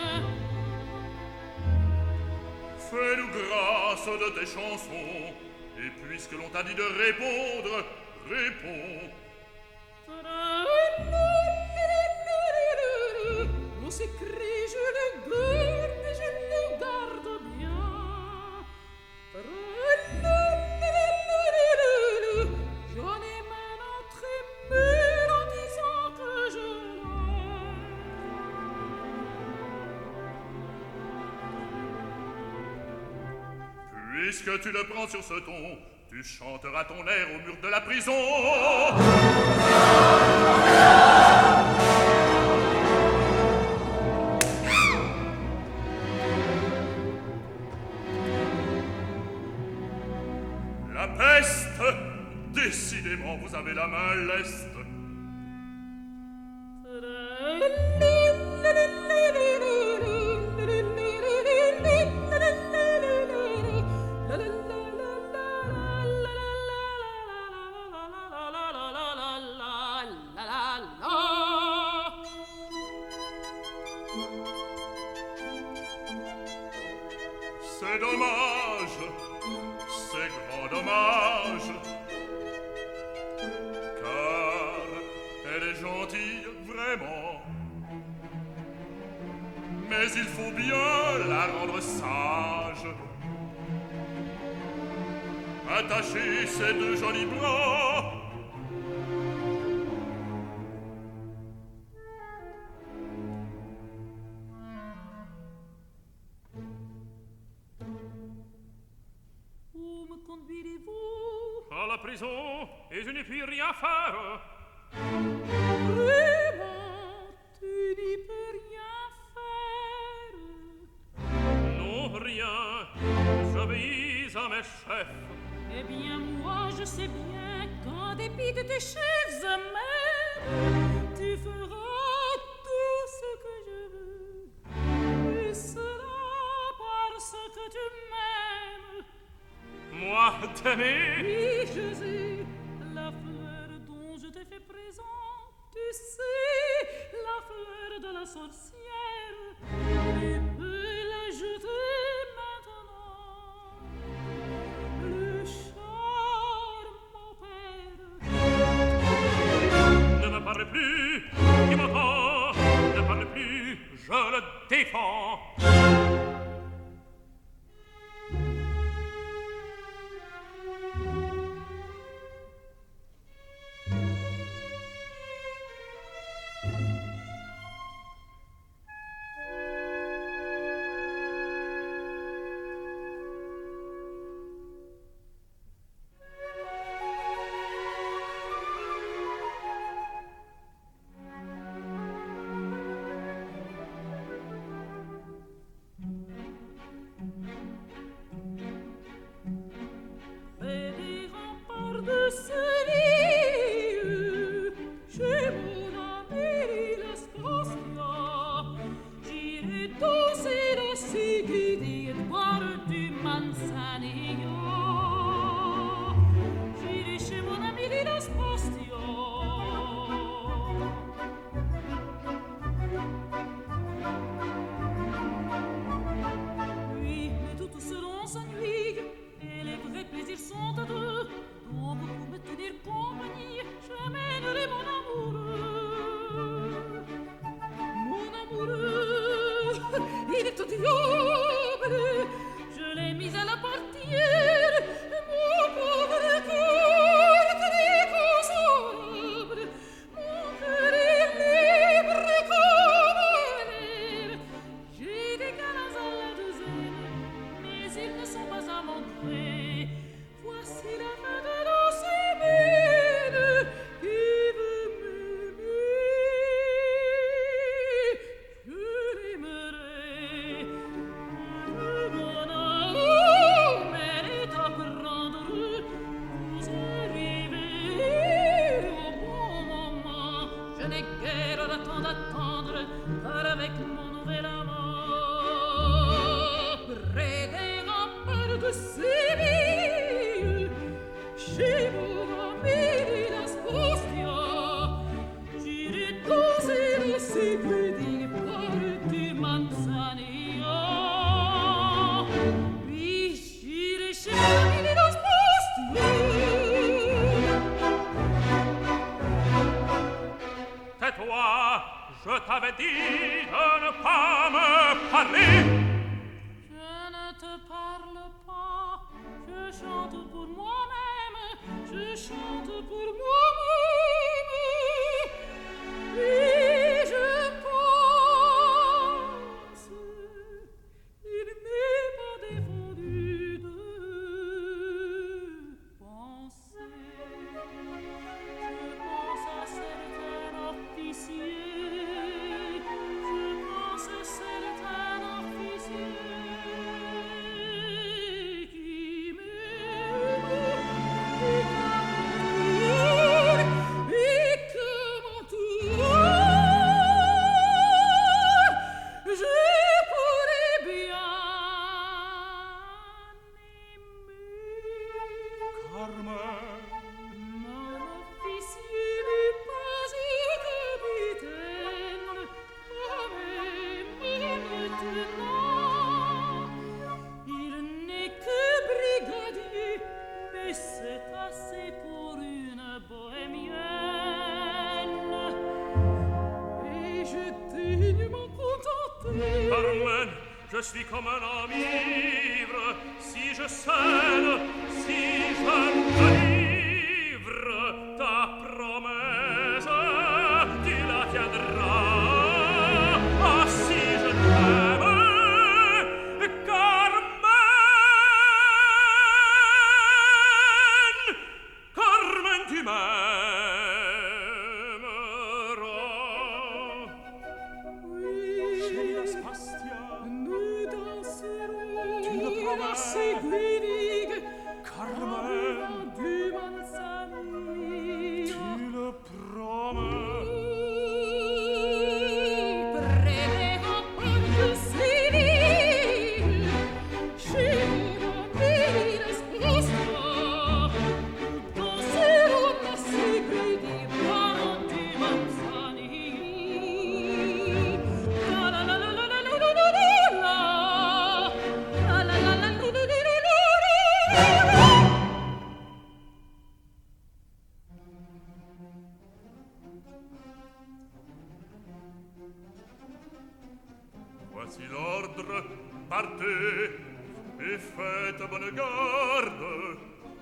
Fais-nous grâce de tes chansons, et puisque l'on t'a dit de répondre, réponds. On s'écrie, je le garde, et je le garde bien. J'en ai maintenant trémule en disant que je l'aime. Puisque tu le prends sur ce ton, tu chanteras ton air au mur de la prison. La peste, décidément, vous avez la main leste. C'est dommage, c'est grand dommage, car elle est gentille vraiment. Mais il faut bien la rendre sage. Attacher ses deux jolis bras. Où me conduirez-vous? À la prison, et je n'ai plus rien à faire. Vraiment, tu n'y peux rien faire. Non, rien, j'obéis à mes chefs. Eh bien, moi, je sais bien qu'en dépit de tes chefs eux-mêmes, tu feras tout ce que je veux. Et cela parce que tu m'aimes. Moi, t'aimer? Oui, je sais, la fleur dont je t'ai fait présent, tu sais, la fleur de la sorcière, tu peux la jeter maintenant. Le charme m'opère. Ne me parle plus, qui m'entend? Ne parle plus, je le défends. Près des remparts de Séville, chez mon ami Lespostia, j'irai danser la Sigrid et boire du Manzanillo. J'irai chez mon ami Lespostia. Oui, mais toutes seront s'ennuient, et les vrais plaisirs sont à deux. Donc pour me tenir compagnie, j'amènerai mon amoureux. Mon amoureux, il est au diable. Je l'ai mis à la portière, mon pauvre cœur très consolable. Mon cœur est libre comme l'air. J'ai des galants à la douzaine, mais ils ne sont pas à mon gré. Voici la fin de la semaine qui veut m'aimer. Je l'aimerai. Mon amour mérite à prendre. Vous arrivez au bon moment. Je n'ai guère le temps d'attendre, car avec mon nouvel amant, près des remparts de Séville, chez mon ami Lespostia, j'irai danser le Sigrid et boire du Manzanillo. Puis j'irai chez mon ami Lespostia. Tais-toi, je t'avais dit de ne pas me parler. Je ne te parle pas, je chante pour moi-même, je chante pour moi-même. Et je pense, il n'est pas défendu de penser. Je pense à certains officiers, je pense à certains officiers qui m'aiment et j'ai dignement contenté. Carmen, je suis comme un homme ivre. Si je scène, si je délivre ta promesse, tu la tiendras. Ah, si je t'aime, Carmen, Carmen, tu m'aimeras. Chérie Aspasia, Nous danserons Tu le promets. à Seguinig, Carmen, du Manzanillo. tu le promets. Prendremo proprio Seguinig, scemo di risposta. Danseremo a Seguinig, di Manzanillo. La la la la la la la la la la. La la la la la la la la la. Voici l'ordre, partez et faites bonne garde.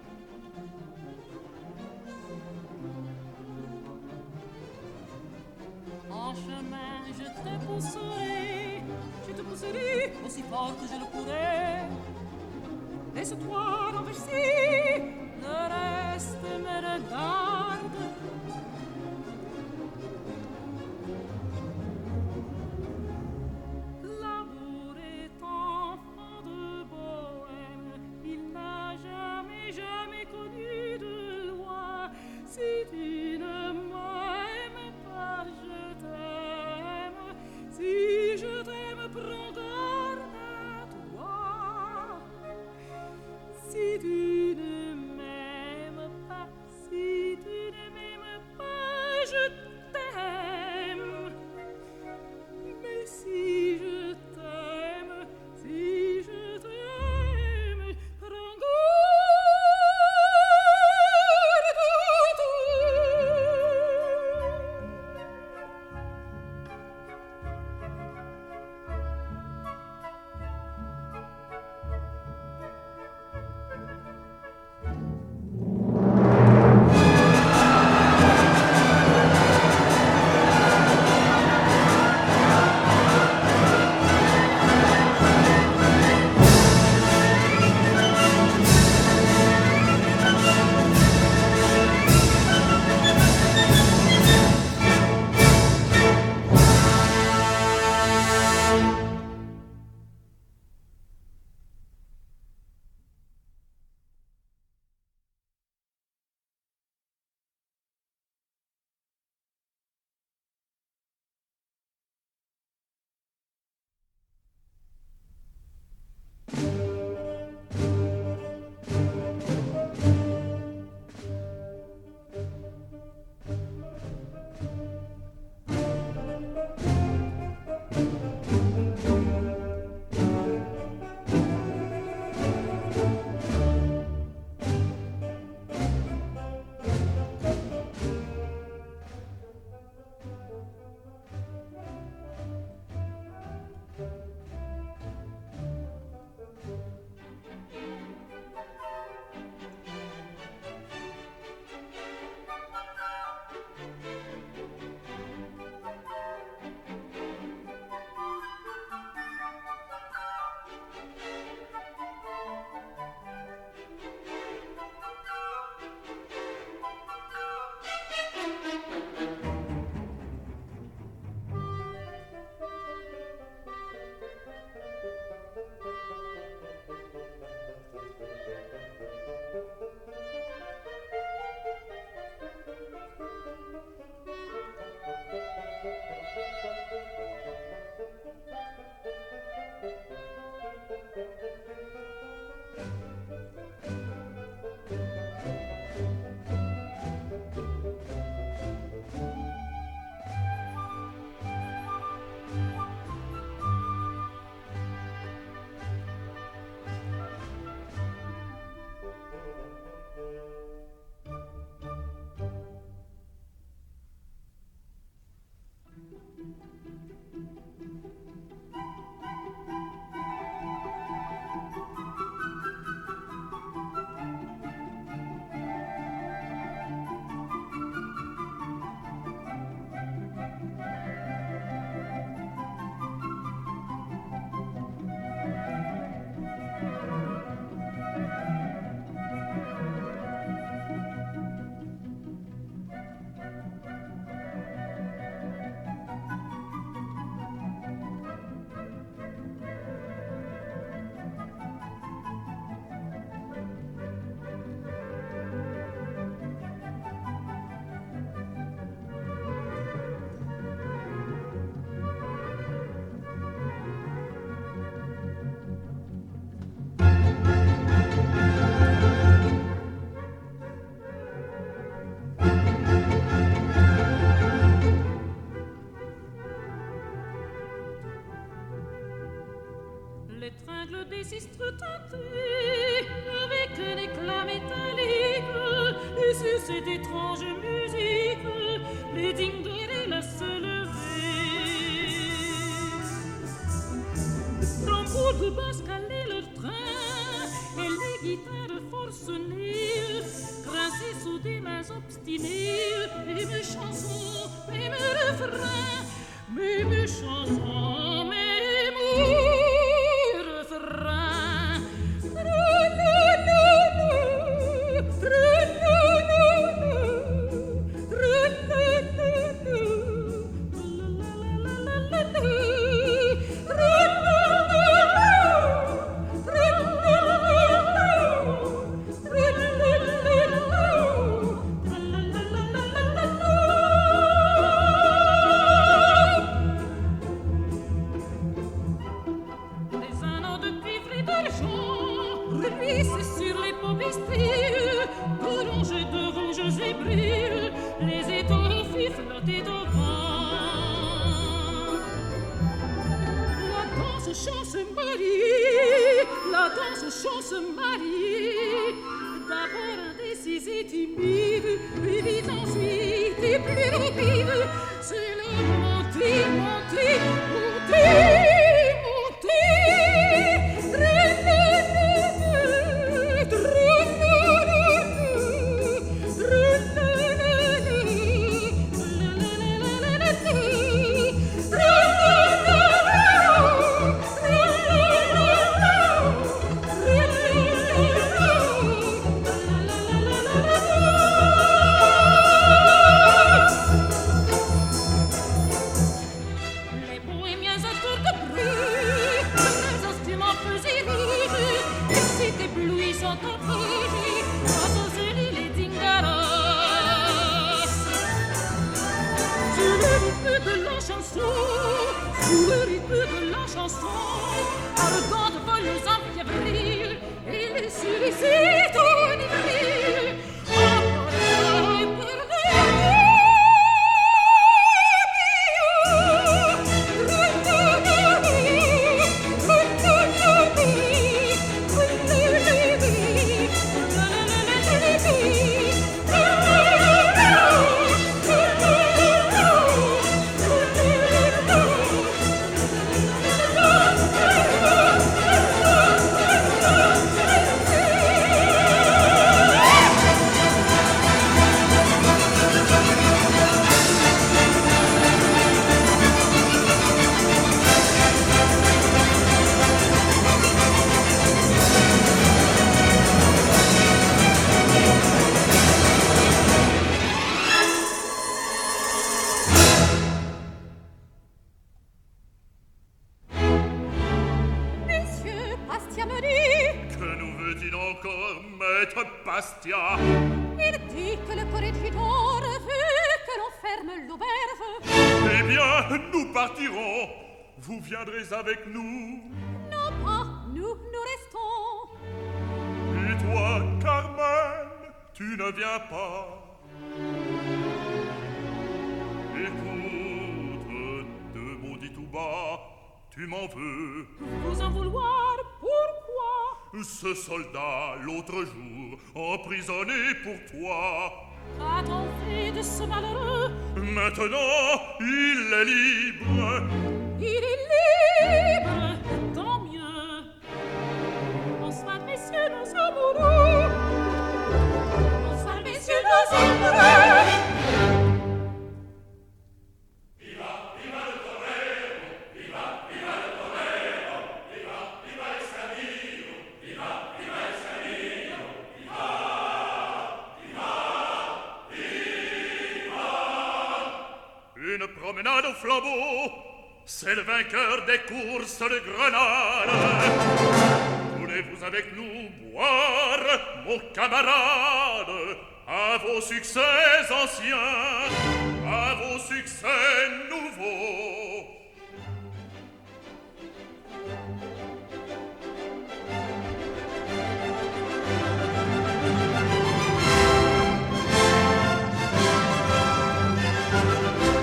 En chemin, je te pousserai aussi fort que je le pourrai. Laisse-toi renverser, le reste me regarde. L'amour est enfant de bohème, il n'a jamais, jamais connu de loi. Si tu ne m'aimes pas, je t'aime. Si je t'aime, prends garde à toi. Si tu ne m'aimes pas, si tu ne m'aimes les tringles des sistres teintées, avec un éclat métallique, et sur cette étrange musique, les dingueries se lever. Tambour de basse calaient leur train, et les guitares forcenées, grinçaient sous des mains obstinées, et mes chansons, et mes refrains, mais mes chansons, mes refrains. La danse chance mariée, d'abord indécise et timide, puis vite ensuite et plus rapide, c'est le monter, monter, monter, Vous viendrez avec nous? Non pas, nous restons. Et toi, Carmen, tu ne viens pas? Écoute, de mots dits tout bas, tu m'en veux? Vous en vouloir, pourquoi? Ce soldat, l'autre jour, emprisonné pour toi. Qu'a-t-on fait de ce malheureux? Maintenant, il est libre. Il est libre, tant mieux. Bonsoir, messieurs, nos amoureux. Bonsoir, messieurs, nos amoureux. Viva, viva le torero, viva, viva le torero, viva, viva l'escamillo, viva, viva l'escamillo, viva, viva, viva. Une promenade au flambeau. C'est le vainqueur des courses de Grenade. Voulez-vous avec nous boire, mon camarade, à vos succès anciens, à vos succès nouveaux?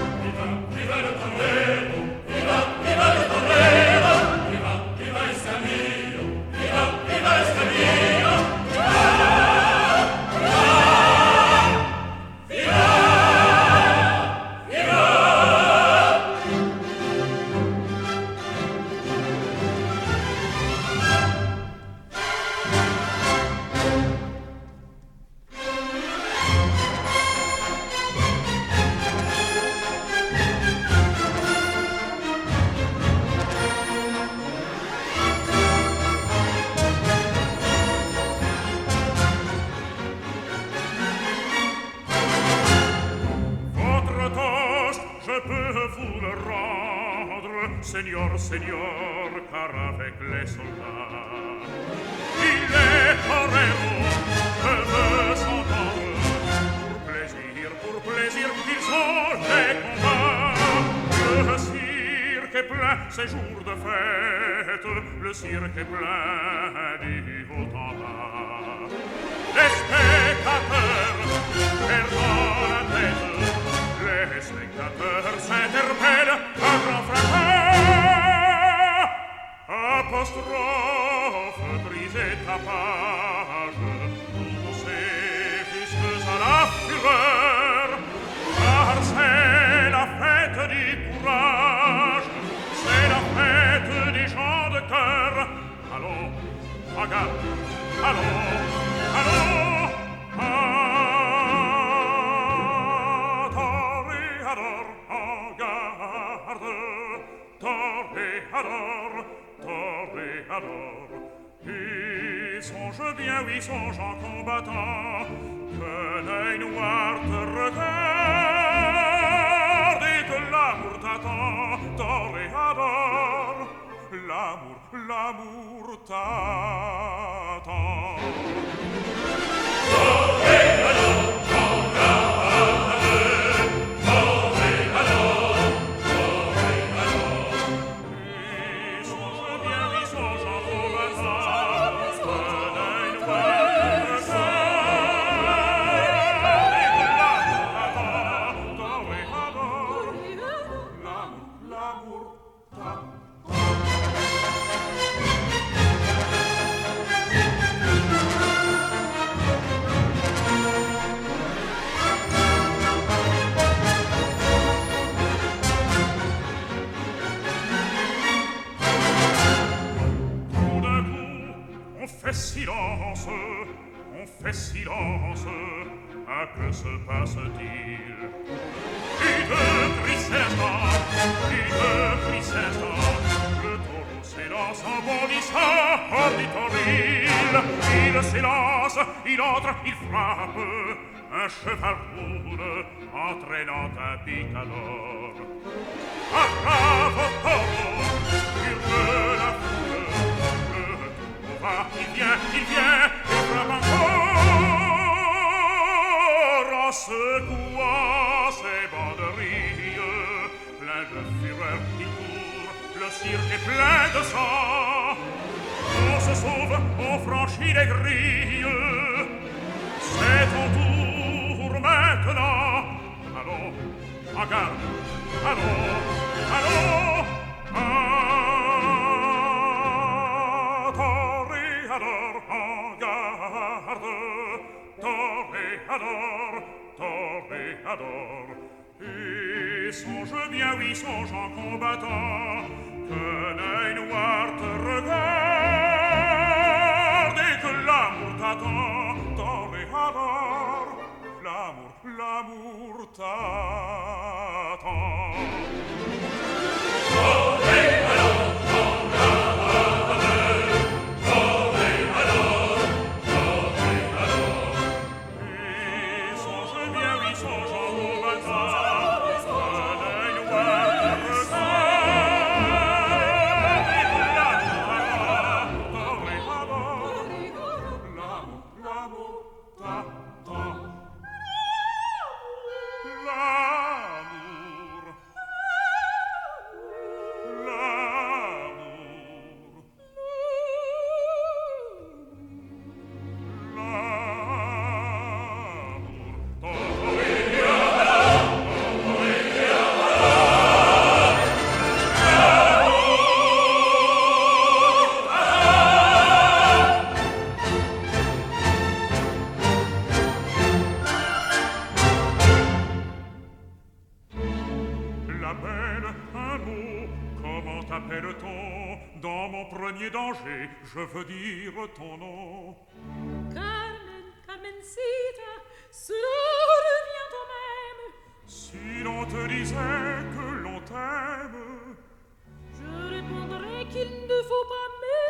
Viva le torero, viva, viva le torero, viva, viva l'escamillo. nous le rendre, Seigneur, Seigneur, car avec les soldats, il est fort héros, je veux s'entendre. Pour plaisir, ils ont les combats. Le cirque est plein, c'est jour de fête, le cirque est plein du haut en bas. Les spectateurs perdent la tête, les spectateurs s'interpellent à grand fracas. Apostrophe, brisez ta page, poussez jusque à la fureur, car c'est la fête du courage, c'est la fête des gens de cœur. Allons, regarde, allons, allons, toréador, en garde, toréador, toréador. Et songe bien, oui, songe en combattant, que l'œil noir te regarde et que l'amour t'attend, toréador, l'amour, l'amour t'attend. Toréador, silence, on fait silence. À que se passe-t-il? Une crise instant, une crise instant. Le taureau s'élance en bondissant hors du toril. Il s'élance, il entre, il frappe. Un cheval roule, entraînant un picador. Attrape au taureau, hurle la foule. Il vient, il frappe encore en secouant ses banderilles. Plein de fureur qui court, le cirque est plein de sang. On se sauve, on franchit les grilles. C'est ton tour maintenant. Allons, en garde, allons, allons, toréador, en garde, toréador, toréador. Et songe bien, oui, songe en combattant, que l'œil noir te regarde et que l'amour t'attend, toréador, l'amour, l'amour t'attend. Toréador, je veux dire ton nom. Carmen, Carmencita, cela revient au même. Si l'on te disait que l'on t'aime, je répondrais qu'il ne faut pas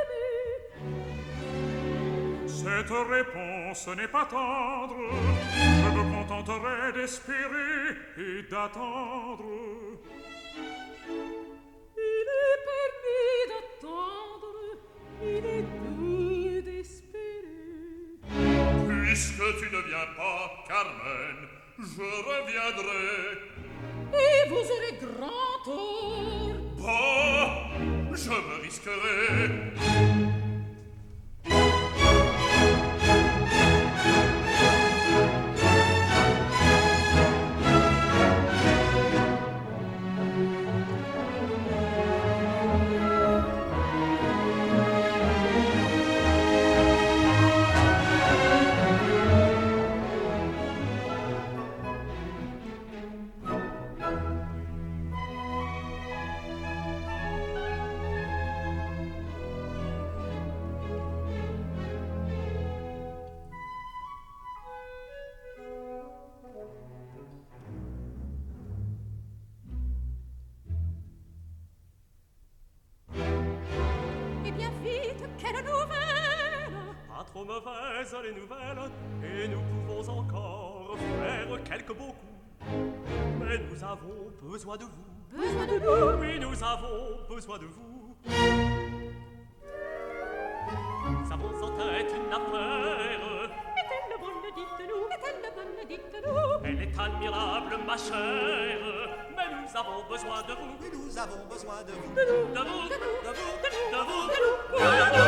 m'aimer. Cette réponse n'est pas tendre. Je me contenterai d'espérer et d'attendre. Je reviendrai. Et vous aurez grand tort. Bah, je me risquerai. Eh bien vite, quelle nouvelle? Pas trop mauvaises les nouvelles, et nous pouvons encore faire quelques beaux coups. Mais nous avons besoin de vous. Besoin de nous? Oui, nous avons besoin de vous. Nous avons en tête une affaire. Est-elle bonne, dites-nous? Est-elle bonne, dites-nous? Elle est admirable, ma chère. Mais nous avons besoin de vous. Oui, nous avons besoin de vous. De vous, de vous, de vous, de vous.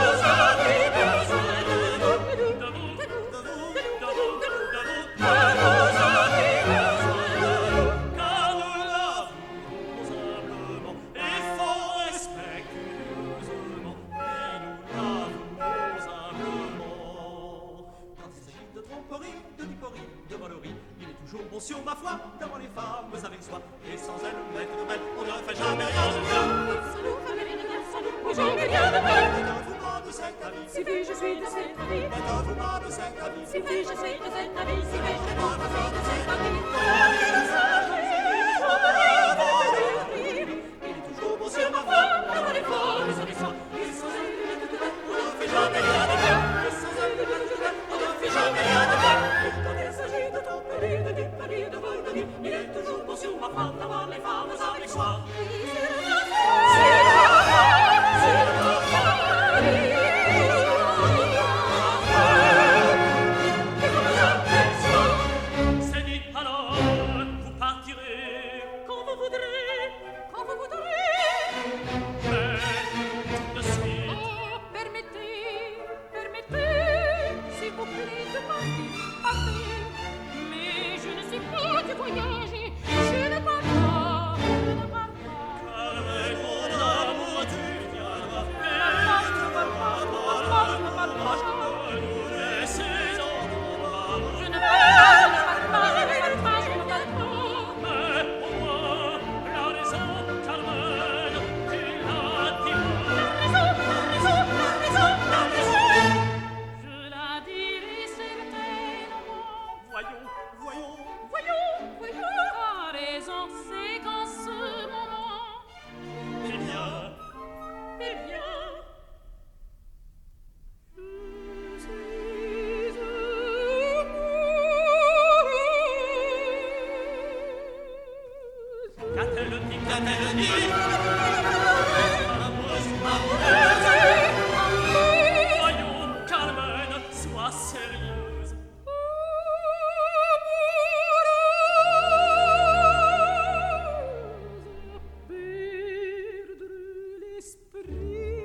Car nous l'avons simplement et fort respectueusement. Et nous l'avons simplement. Quand il s'agit de tromperie, de diporie, de volerie, il est toujours bon sur ma foi d'avoir les femmes avec soi. Et sans elles, maître de belle, on ne fait jamais rien de bien. Oui, jamais rien de mal. Mettez-vous-moi de cet avis. Si oui, je suis de cet avis. Mettez-vous-moi de cet avis. Si oui, je suis de cet avis. Si oui, je suis de cet avis. Il est toujours bon sur ma foi d'avoir les femmes avec soi. Et sans elles, on ne fait jamais rien de bien. Et sans elles, on ne fait jamais rien de bien. Quand il s'agit de tromperie, de diparie, de volerie, Il est toujours bon sur ma foi d'avoir les femmes avec soi. C'est dit alors, vous partirez. Quand vous voudrez, quand vous voudrez. Mais tout de suite, Oh, permettez, permettez, s'il vous plaît, de partir, partez. Mais je ne sais pas du voyage, je ne pars pas, je ne pars pas. avec mon amour tu viendras. Je ne pars pas, je ne pars pas, je ne pars pas. Nous laisser en embarras. Je ne pars pas, je ne pars pas, je ne pars pas, je ne pars pas. Mais au moins, la raison, Carmen, tu la diras. Je la dirai certainement. Voyons, voyons. Voyons, voyons. La raison, c'est qu'en ce moment, Eh bien, eh bien, je suis amoureuse. qu'a-t-elle dit, qu'a-t-elle dit? Voyons, Carmen, sois sérieuse. Perdre l'esprit.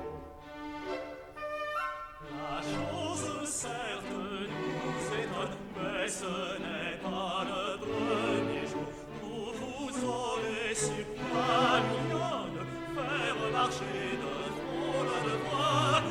La chose certes nous étonne, mais ce n'est pas le premier jour où vous aurez su, ma mignonne, faire marcher de front le devoir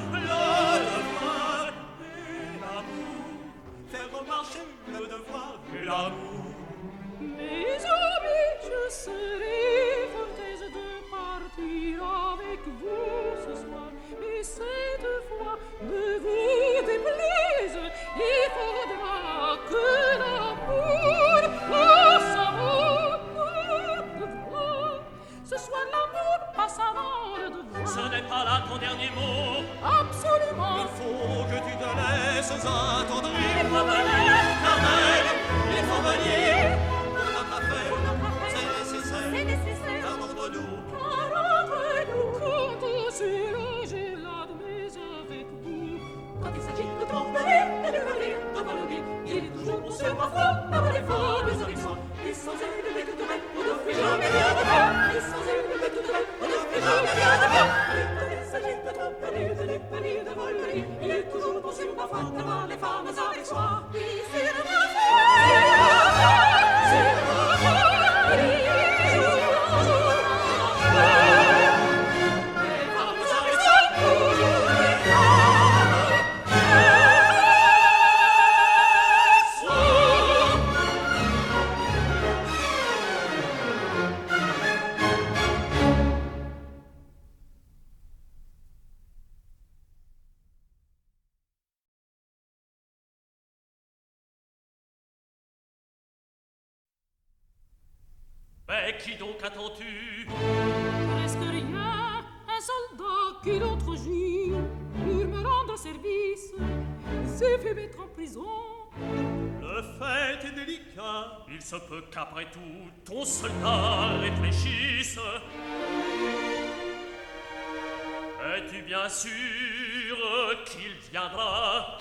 et l'amour. Faire marcher le devoir et l'amour. Mes amis, je serai fort aise de partir avec vous ce soir. Et cette fois, ne vous déplaise, il faudra que l'amour, oh, savoir de voir. Ce soir, l'amour passe avant le devoir. Ce n'est pas là ton dernier mot. Absolument. Il faut que tu te laisses attendrir. Il faut venir, Carmen, Il faut venir pour notre affaire. C'est c'est nécessaire. nécessaire. Car entre nous, Car entre nous, quand on sera, j'ai l'admise avec vous. Quand il s'agit de tromperie, de voler, il est toujours bon sur ma foi, d'avoir les femmes Mais qui donc attends-tu? Presque rien, un soldat qui l'autre jour, pour me rendre service, s'est fait mettre en prison. Le fait est délicat. Il se peut qu'après tout, ton soldat réfléchisse. Es-tu bien sûr qu'il viendra?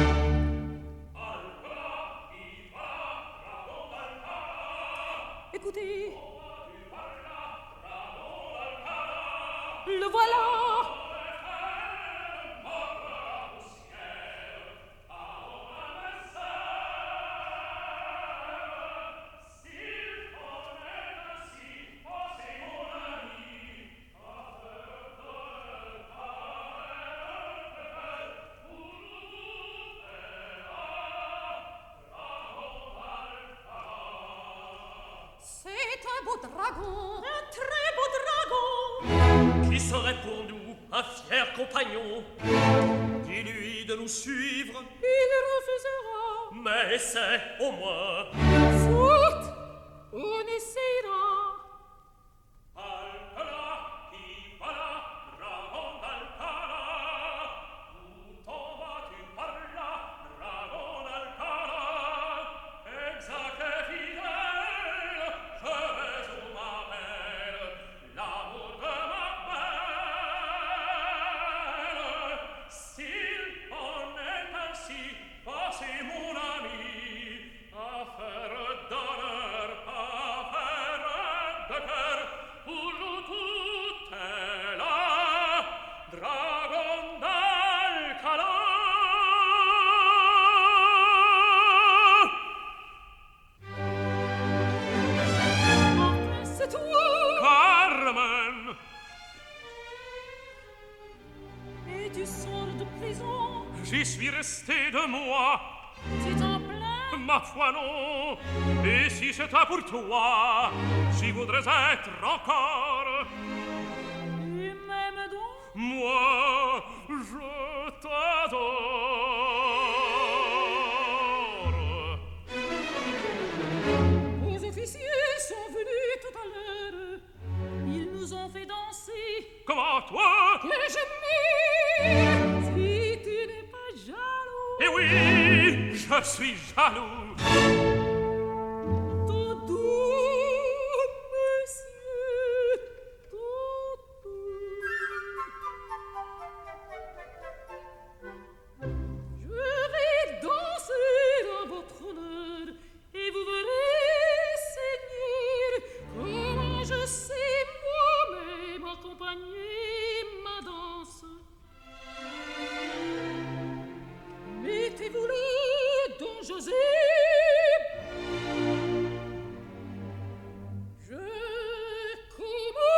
Écoutez, le voilà. C'est un beau dragon, un très beau dragon. Qui serait pour nous un fier compagnon? Dis-lui de nous suivre. Il refusera. Mais essaie au moins. Soit, on essayera. J'y suis resté de moi. C'est en plein. Ma foi non. Et si c'était pour toi, j'y voudrais être encore. Tu m'aimes donc? Moi, je t'adore. Les officiers sont venus tout à l'heure. Ils nous ont fait danser. Comment toi? Que je m'aime. Si tu n'es pas jaloux. Eh oui, je suis jaloux. Tout doux, monsieur, tout doux. Je vais danser dans votre honneur et vous verrez, Seigneur, comment je sais moi-même accompagner ma danse. Mettez-vous le don José. Je commence.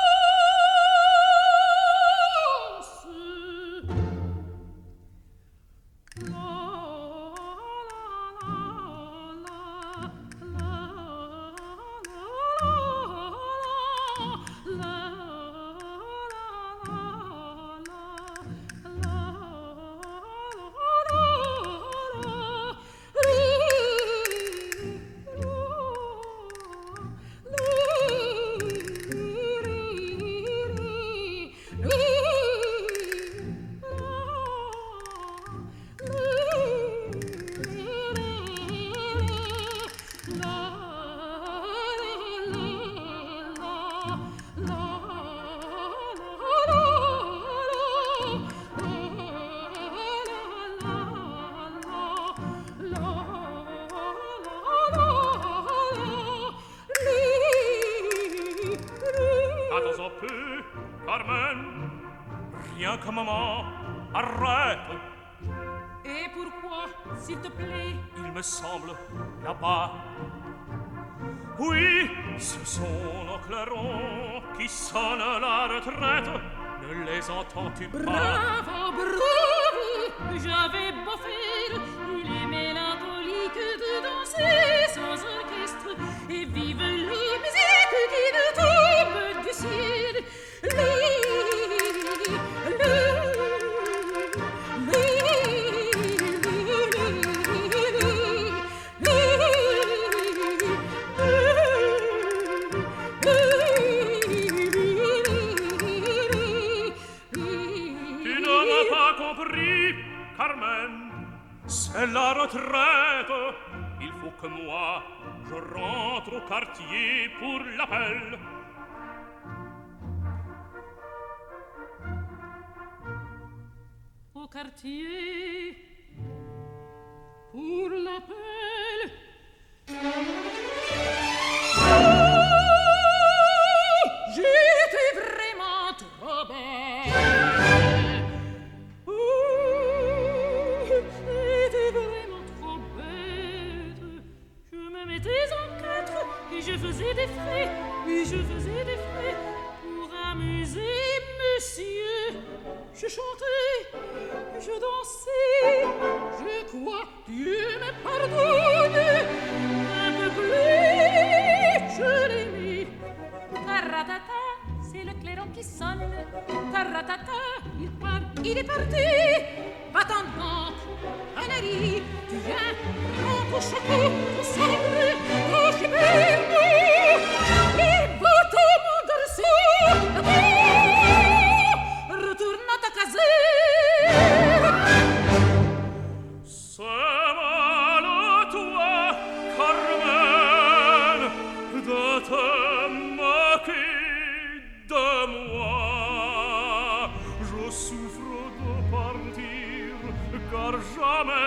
Attends un peu, Carmen. Rien qu'un moment, arrête. Et pourquoi, s'il te plaît? Il me semble, là-bas. Oui, ce sont nos clairons qui sonnent la retraite. Ne les entends-tu pas? Bravo, bravo, j'avais beau faire, il est mélancolique de danser sans orchestre, et vive les musiques qui nous tombent du ciel. c'est la retraite. Il faut que moi, je rentre au quartier pour l'appel. Au quartier pour l'appel. J'étais vraiment trop belle. J'étais vraiment trop bête. Je me mettais en quatre et je faisais des frais. Oui, je faisais des frais pour amuser monsieur. Je chantais, je dansais, je crois Dieu me pardonne. Un peu plus, je l'aimais. Taratata, c'est le clairon qui sonne. Taratata, il part, il est parti. Va-t'en donc, Annerie, tu viens, prends ton chapeau, ton sabre, ton chiberne. Et va-t'en, mon garçon, retourne à ta caserne. C'est mal à toi, Carmen, de te moquer de moi. Je souffre de partir, car jamais,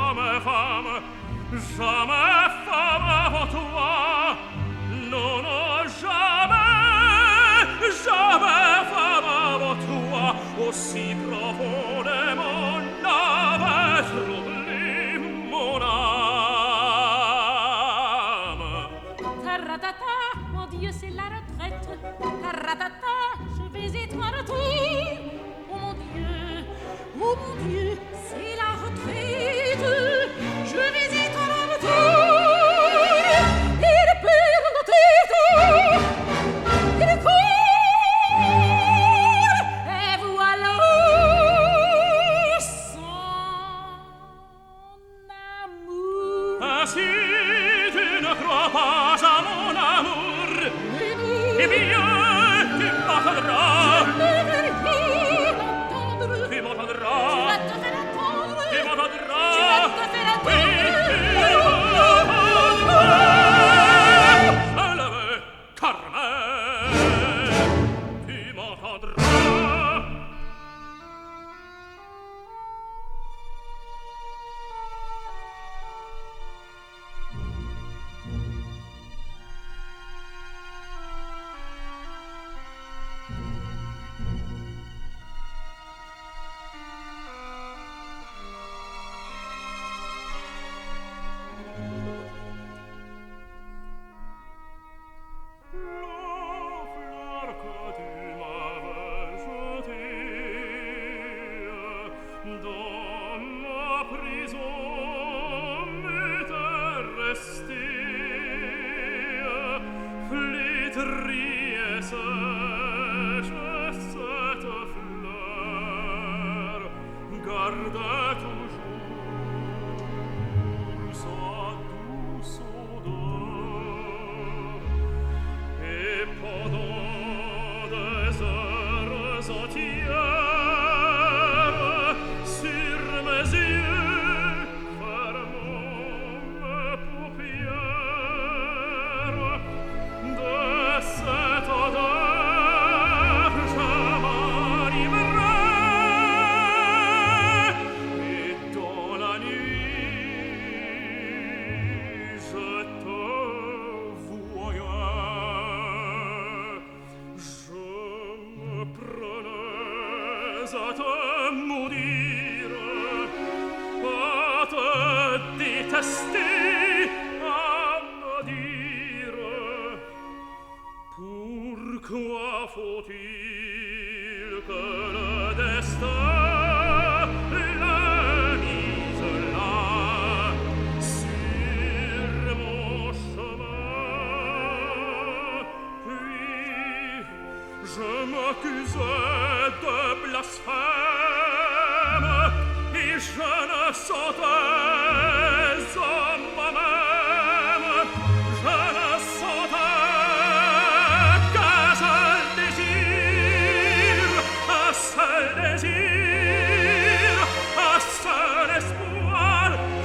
jamais femme avant toi. Non, non, jamais femme avant toi. Aussi profondément n'avait troublé mon âme. Taratata, mon Dieu, c'est la retraite. Taratata, je vais être en retour. Oh mon Dieu, c'est la retraite. Je vais être en retour. Il perd la tête. Il court. Et voilà son amour. Ainsi tu ne crois pas à mon amour. Eh bien, tu m'entendras. Je ne veux rien entendre. Tu Tu m'entendras. vas te faire entendre. Tu m'entendras. Tu vas te faire entendre. Oui, tu m'entendras. Je le veux, Carmen. Tu m'entendras. La fleur que tu m'avais jetée dans ma prison m'était restée flétrie et sèche cette fleur gardait toujours sa douce odeur. Et pendant des heures entières, sur mes yeux, fermant mes paupières, de cette odeur je m'enivrais. Et dans la nuit, je te voyais. Je me prenais à te maudire, à te détester, à me dire pourquoi faut-il que le destin le mise là sur mon chemin. Puis je m'accusais de blasphème et je ne sentais en moi-même, je ne sentais qu'un seul désir, un seul espoir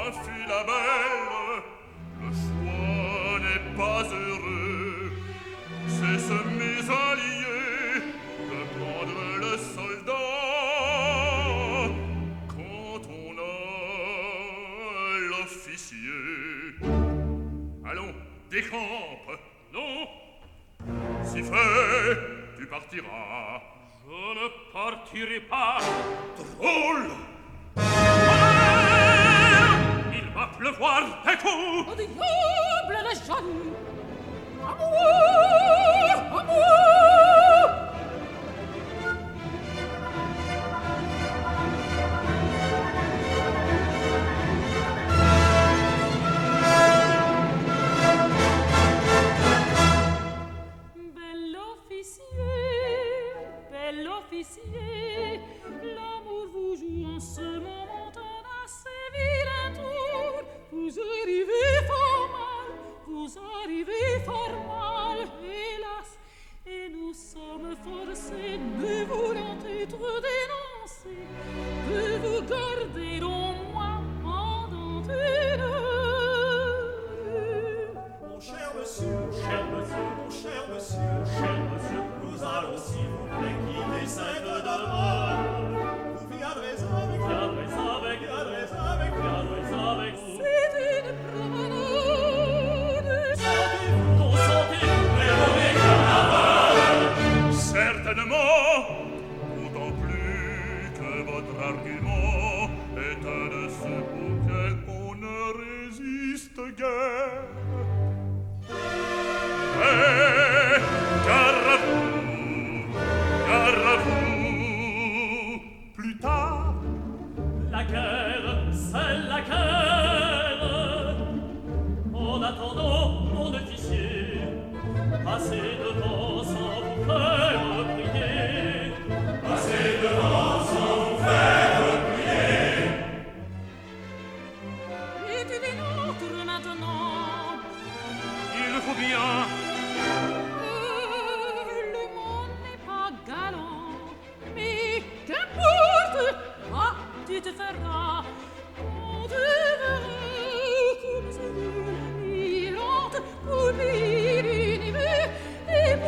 ma fille la belle, le choix n'est pas heureux. C'est ce mésallié de prendre le soldat quand on a l'officier. Allons, décampe. Non, Si fait, tu partiras. je ne partirai pas. Drôle! Il va pleuvoir des coups. Au diable les jaloux! Amour! Amour! Bell'officier, l'amour vous joue en ce moment un assez vilain tour. Vous arrivez fort mal, hélas, et nous sommes forcés de voulant être dénoncés, de vous garder au moins pendant une heure. Mon cher monsieur, mon cher monsieur, nous allons s'il vous plaît quitter cette demeure. Vous viendrez avec nous. C'est une promenade. Certainement, d'autant plus que votre argument est un de ceux auxquels on ne résiste guère. Mais, gare à vous, plus tard, Laquelle, c'est laquelle? En attendant, mon officier, passez devant sans vous faire prier. Passez devant sans vous faire prier. Et tu dénonces maintenant. Il faut bien. Le monde n'est pas galant, mais qu'importe. Ah, tu te feras. On te verra comme c'est l'admirante pour l'univers et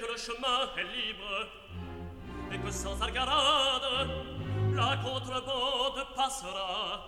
que le chemin est libre et que sans algarade la contrebande passera.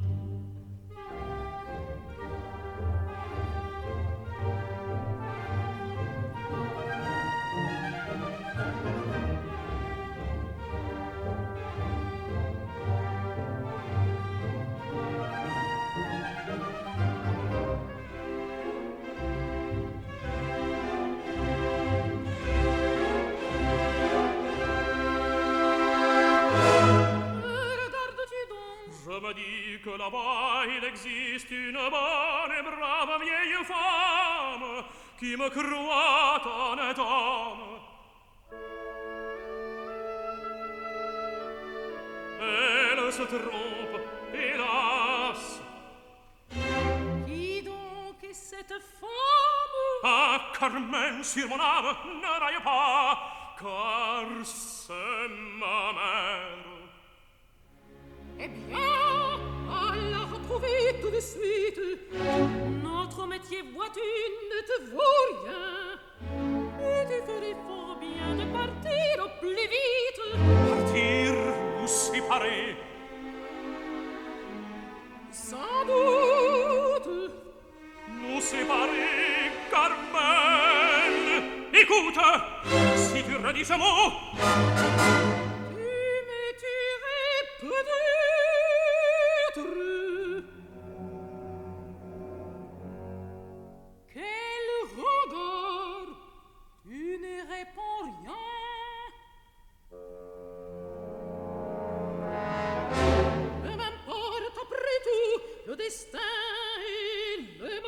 Je me dis que là-bas il existe une bonne et brave vieille femme qui me croit honnête homme. Elle se trompe, hélas. Qui donc est cette femme? Ah, Carmen, sur mon âme, ne raille pas, car c'est ma mère. Eh bien, à la retrouver tout de suite. Notre métier, vois-tu, ne te vaut rien. Et tu ferais fort bien de partir au plus vite. Partir ou séparer? Sans doute. Nous séparer, Carmen. Écoute, si tu redis ce mot, Tu me tuerais peut-être. Quelle rondeur! Tu ne réponds rien. Mais m'importe après tout, le destin est le maître.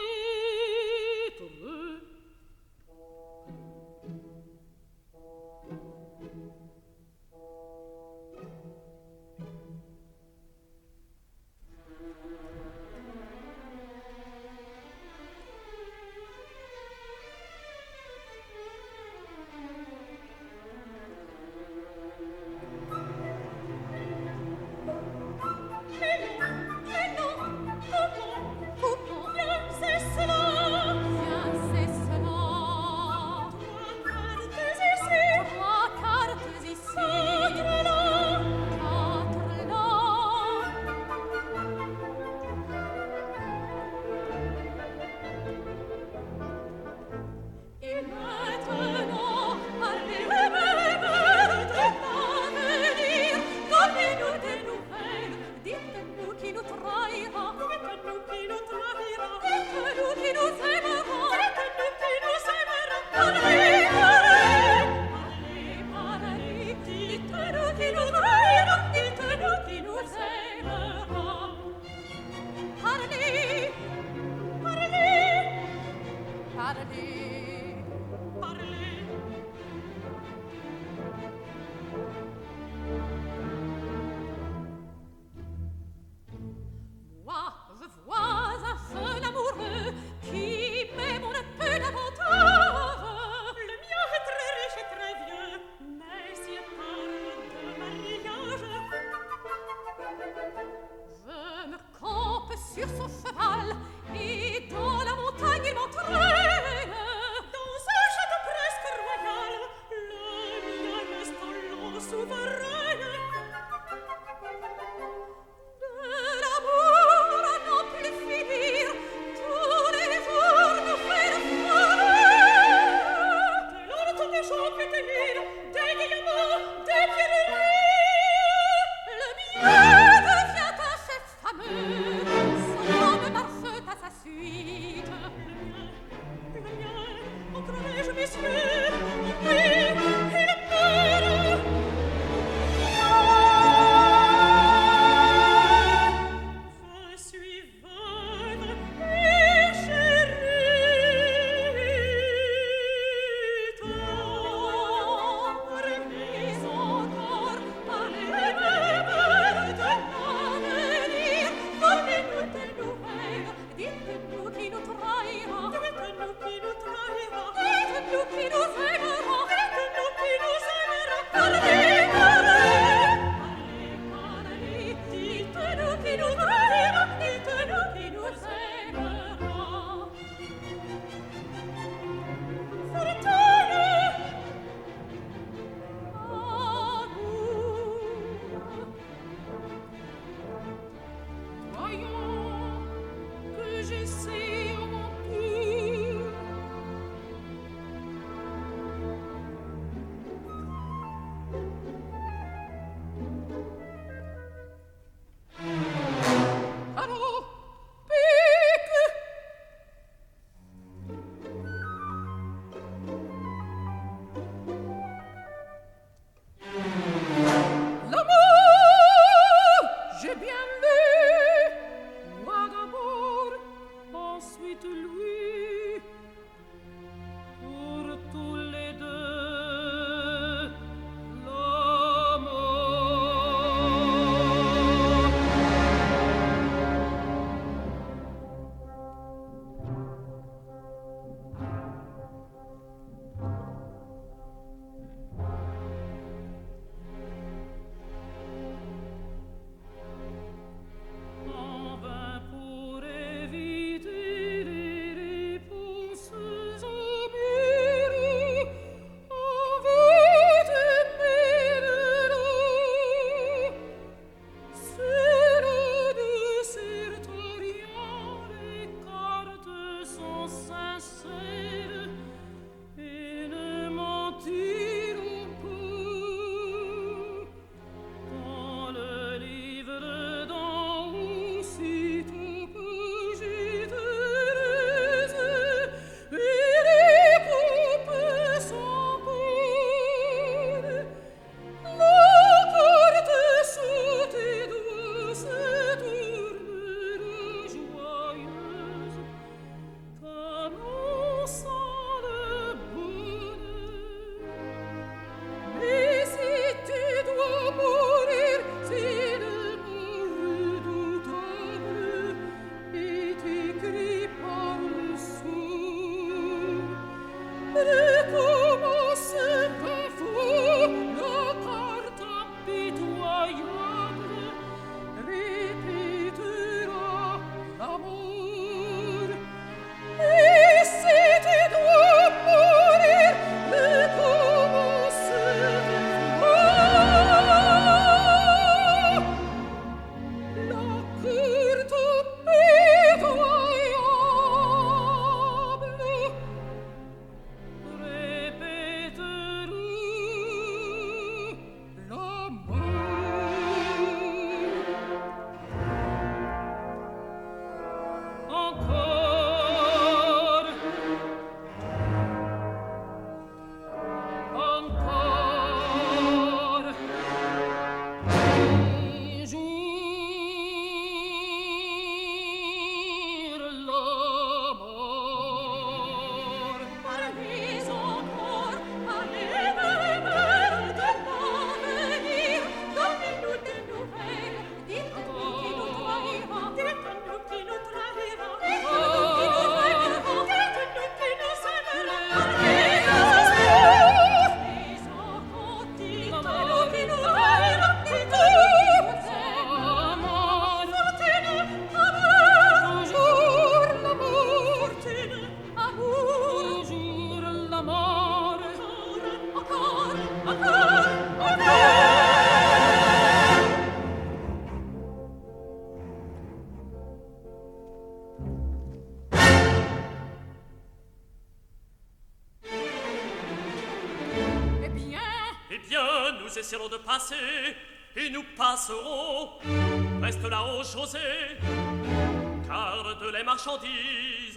nous essaierons de passer, et nous passerons. Reste là-haut, José, car de les marchandises.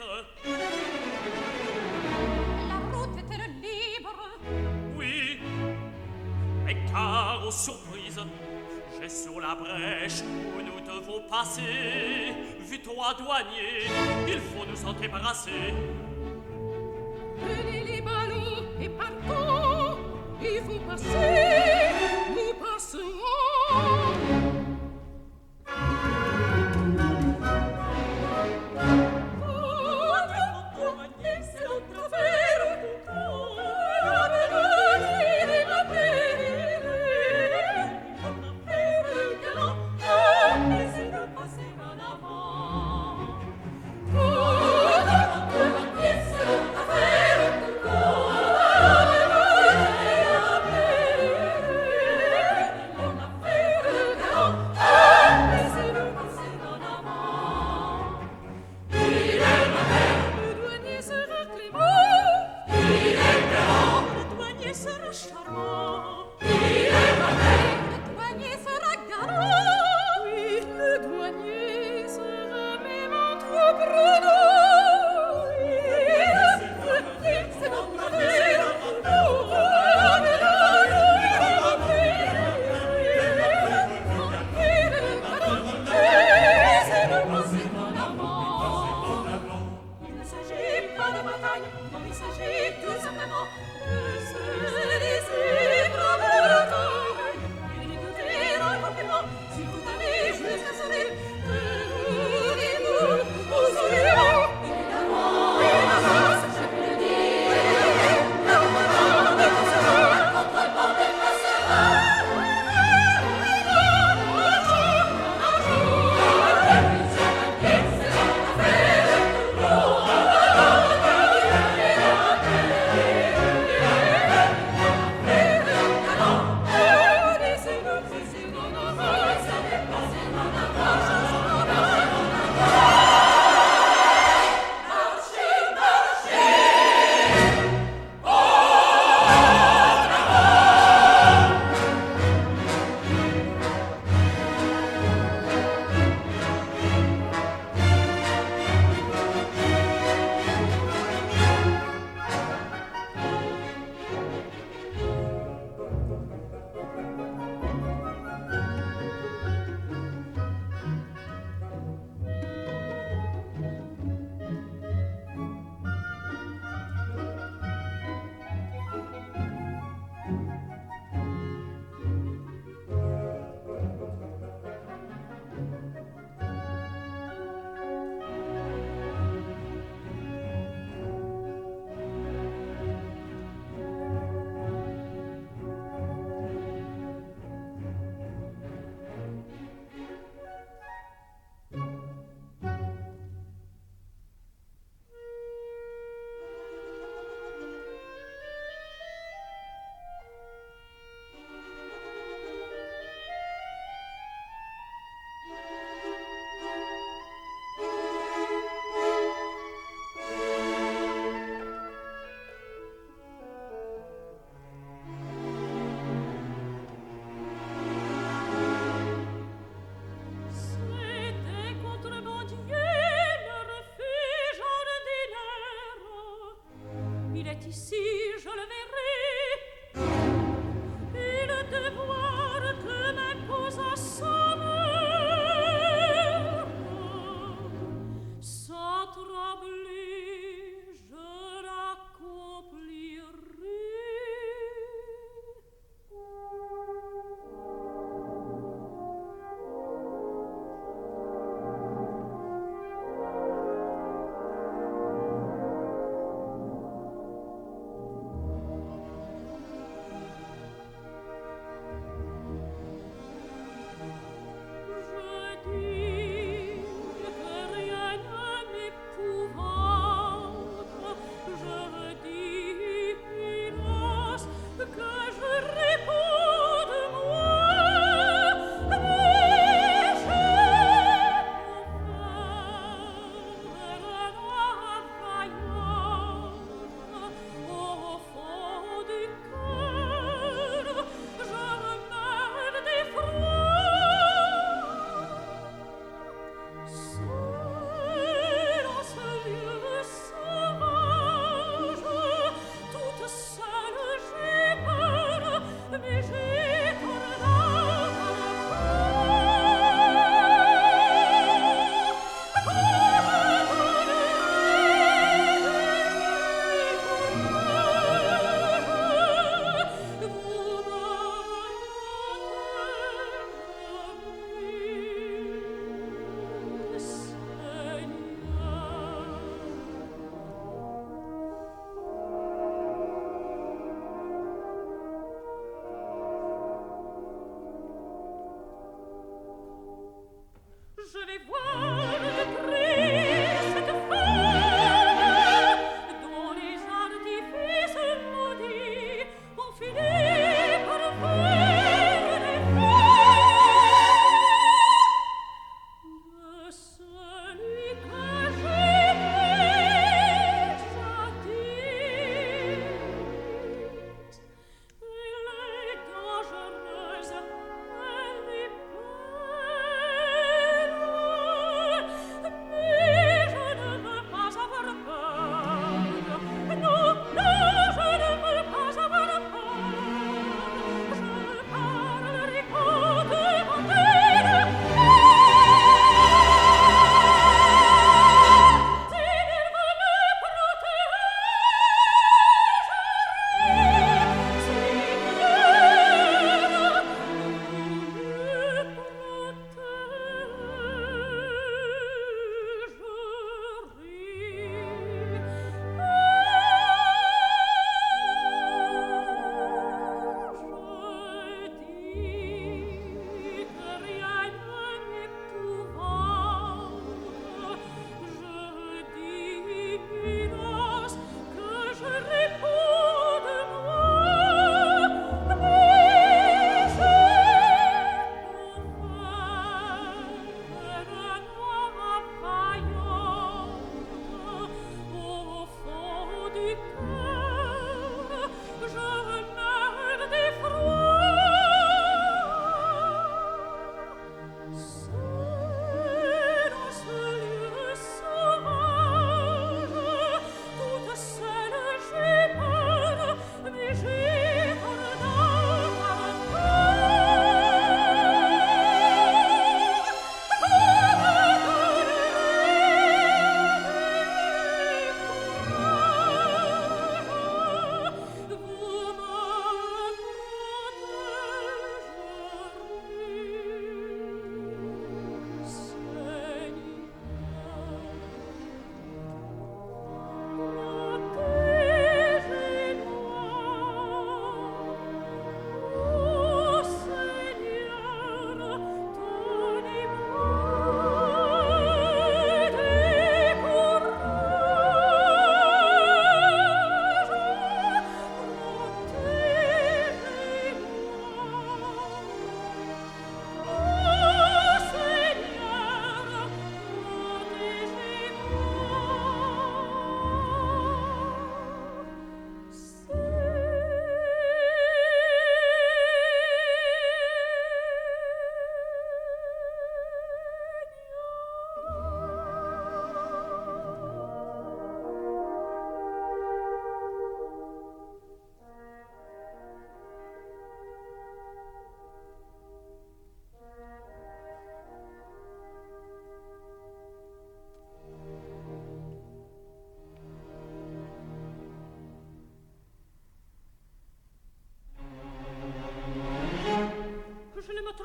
La route est-elle libre? Oui, mais car aux surprises, j'ai sur la brèche où nous devons passer. Vu toi, douanier, il faut nous en débarrasser. Prenez les ballots et partons. Il faut passer, nous passerons. Oh,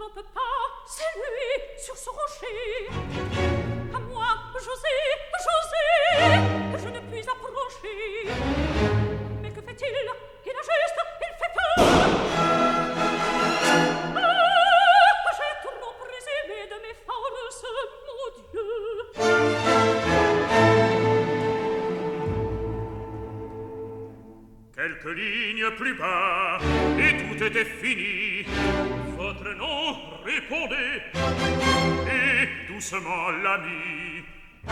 ne peut pas, c'est lui, sur ce rocher. À moi, José, je ne puis approcher. Mais que fait-il? Il a juste, il fait peur. Ah, j'ai trop présumé de mes forces, mon Dieu. Quelques lignes plus bas, et tout était fini. Votre nom, répondez, et doucement l'ami.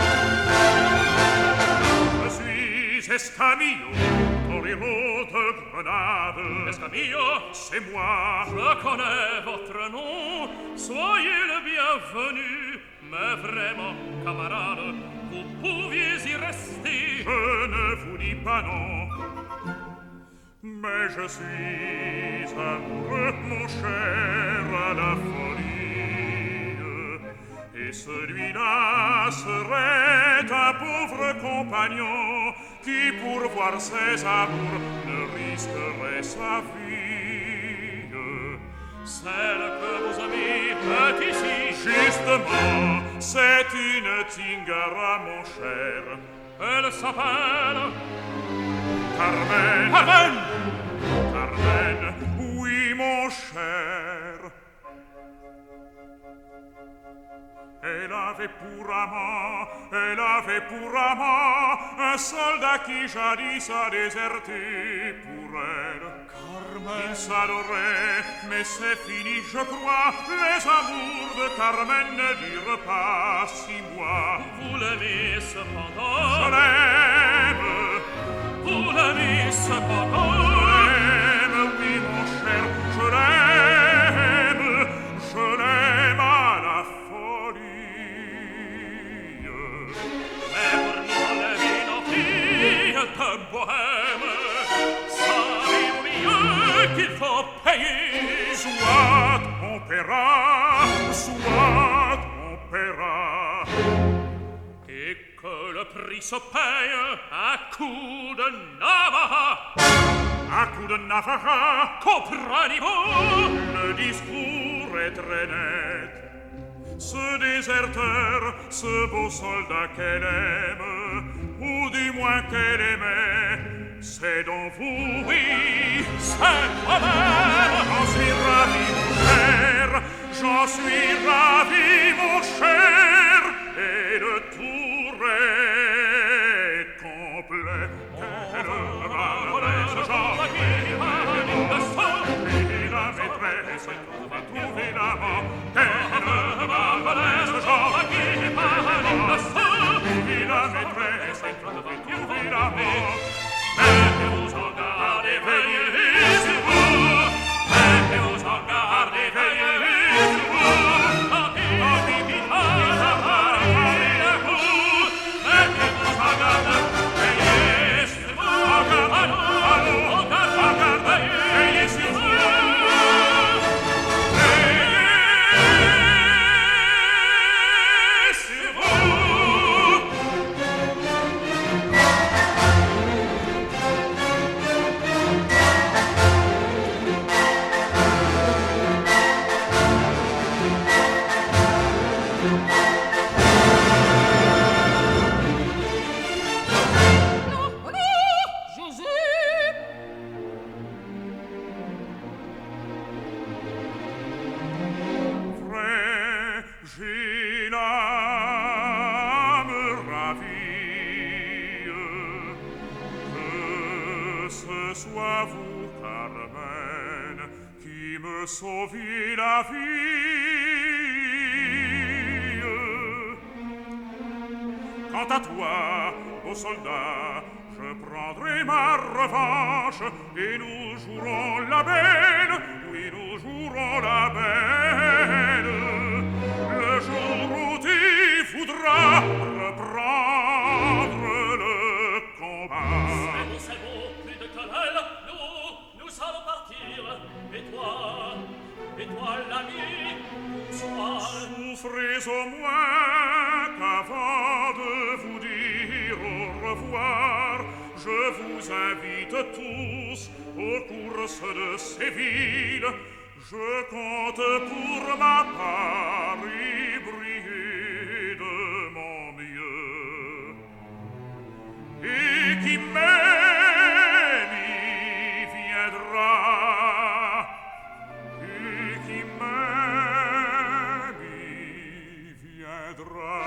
Je suis Escamillo, torero de Grenade. Escamillo, c'est moi. Je connais votre nom, soyez le bienvenu. Mais vraiment, camarade, vous pouviez y rester. Je ne vous dis pas non. Mais je suis amoureux, mon cher, à la folie. Et celui-là serait un pauvre compagnon qui, pour voir ses amours, ne risquerait sa vie. Celle que vos amis est ici. Justement, c'est une Tingara, mon cher. Elle s'appelle Carmen. Carmen! Carmen, oui, mon cher. Elle avait pour amant un soldat qui jadis a déserté pour elle. Carmen. Il s'adorait, mais c'est fini, je crois. Les amours de Carmen ne durent pas 6 mois. Vous l'aimez cependant. Je l'aime. Vous l'aimez cependant. Je l'aime, oui, mon cher, je l'aime. Je l'aime à la folie. Mais pour nous, la vie nos filles de bohème, savez-vous mieux qu'il faut payer? Soit on paiera, soit on paiera. Et que le prix se paye à coup de Navaja. À coup de Navaja, comprenez-vous? Le discours est très net. Ce déserteur, ce beau soldat qu'elle aime, ou du moins qu'elle aimait, c'est donc vous, oui, c'est moi-même. J'en suis ravi, mon cher, j'en suis ravi, mon cher, et le tour est complet. Quelle maladresse, j'en et la maîtresse va trouver l'amant. Quelle maladresse, j'en et la maîtresse va trouver l'amant. Mettez-vous en garde et veillez sur vous. Mettez-vous en garde et veillez sur vous. Mettez-vous en garde, veillez sur vous. En garde, veillez sur vous. Sauver la vie. Quant à toi, ô soldat, je prendrai ma revanche et nous jouerons la belle, oui, nous jouerons la belle. Le jour où tu voudras reprendre le combat. C'est bon, plus de querelle, nous allons partir, et toi, l'ami, bonsoir. Souffrez au moins qu'avant de vous dire au revoir, je vous invite tous aux courses de ces villes. Je compte pour ma part y briller de mon mieux. Et qui m'aime y viendra. Et qui m'aime y viendra.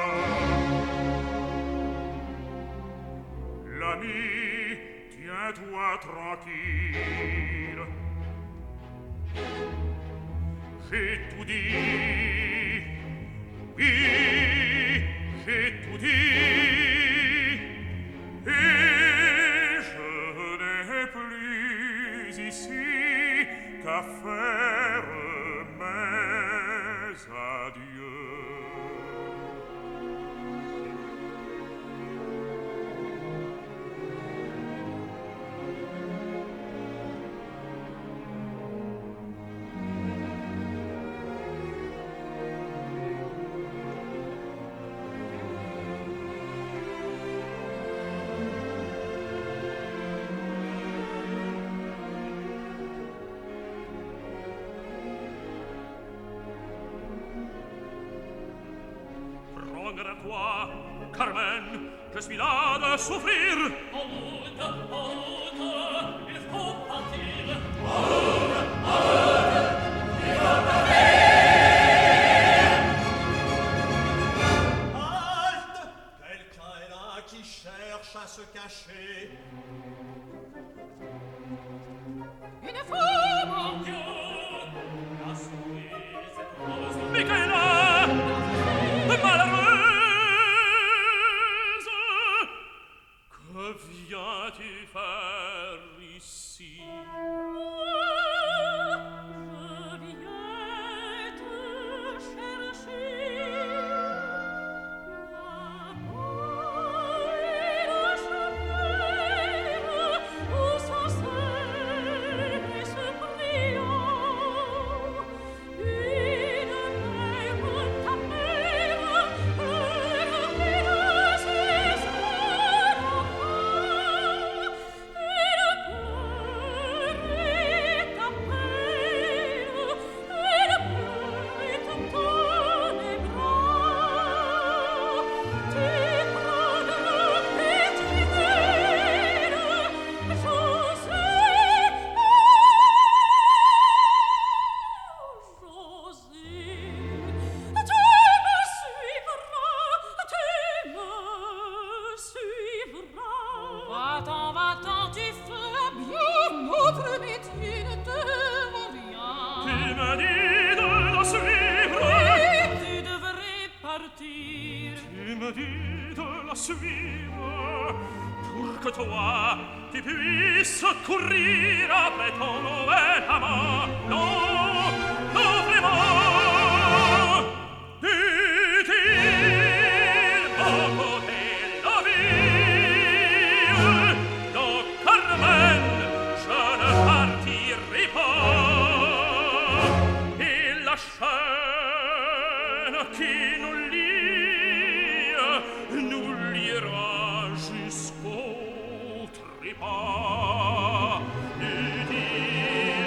L'ami, tiens-toi tranquille. J'ai tout dit, oui, j'ai tout dit, et je n'ai plus ici qu'à faire mes adieux. Prendre à toi, Carmen, je suis là de souffrir. En route, il faut partir. Halte! Quelqu'un est là qui cherche à se cacher. Une femme en Dieu, La souris, cette rose. Michaela, malheureuse, que viens-tu faire ici? je viens te chercher. La paille cheveux, où sont ces esprits? Une mer ta mère, pleure ses enfants. Va-t'en, tu feras bien notre métier, ne te vends rien. Tu me dis de la suivre. Oui, tu devrais partir. Tu me dis de la suivre pour que toi tu puisses courir après ton nouvel amant. Non, non vraiment. Dit-il à côté la vie. Non, Carmen, je ne partirai pas. Et la chaîne qui nous liera jusqu'au trépas. Dit-il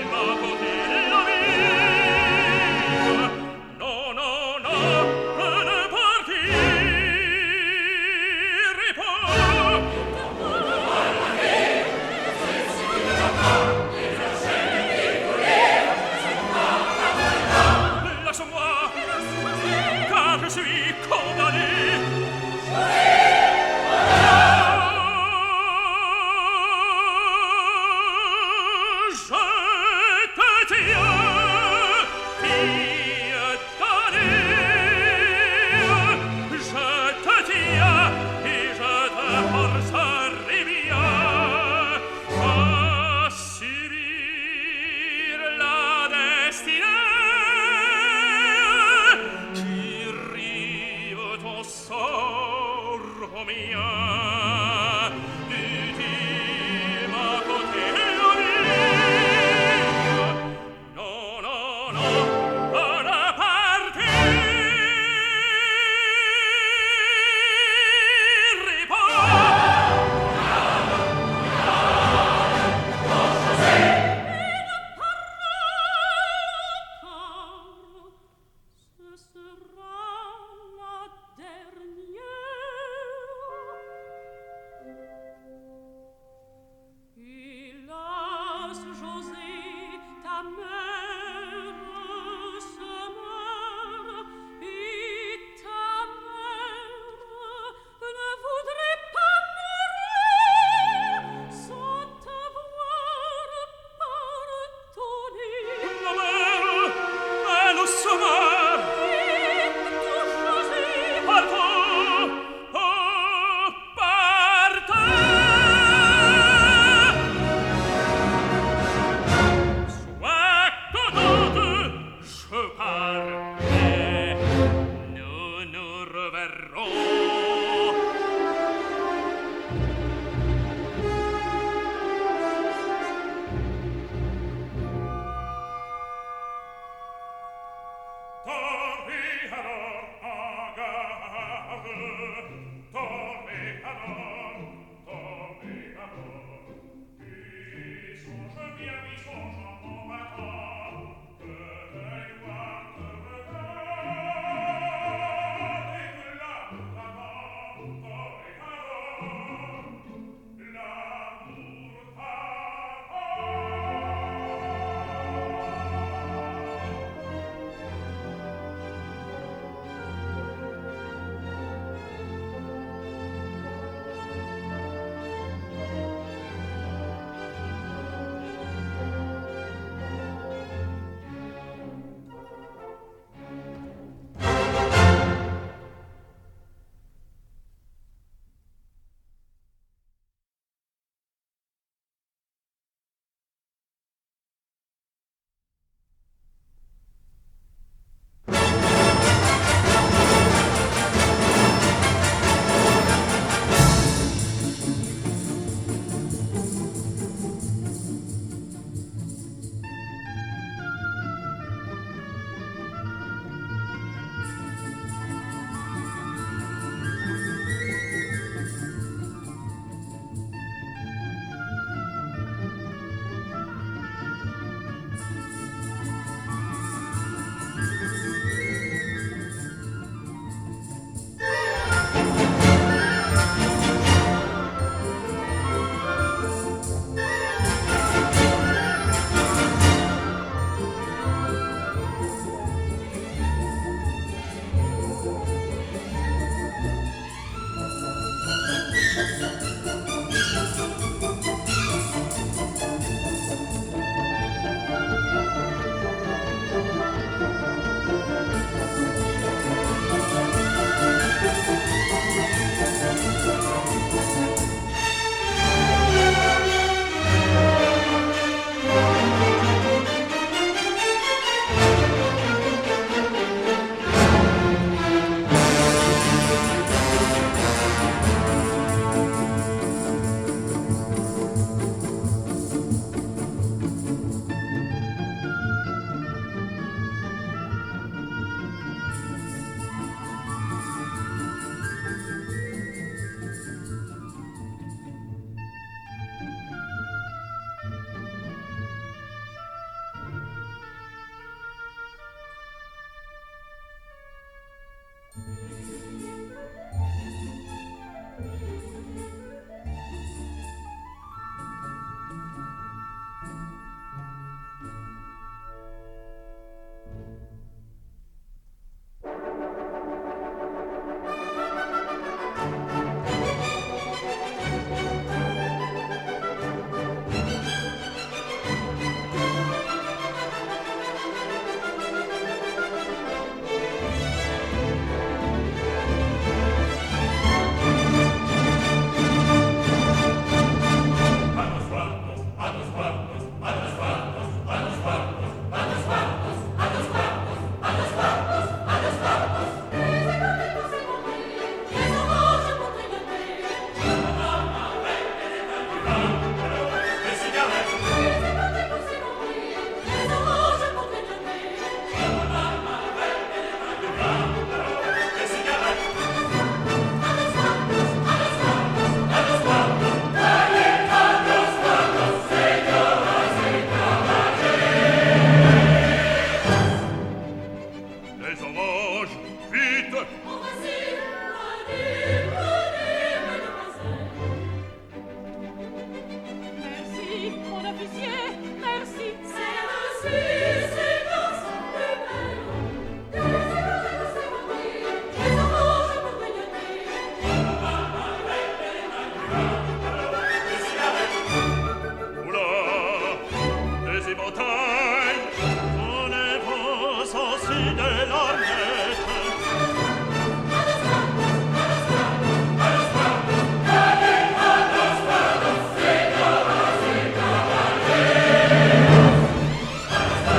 Thank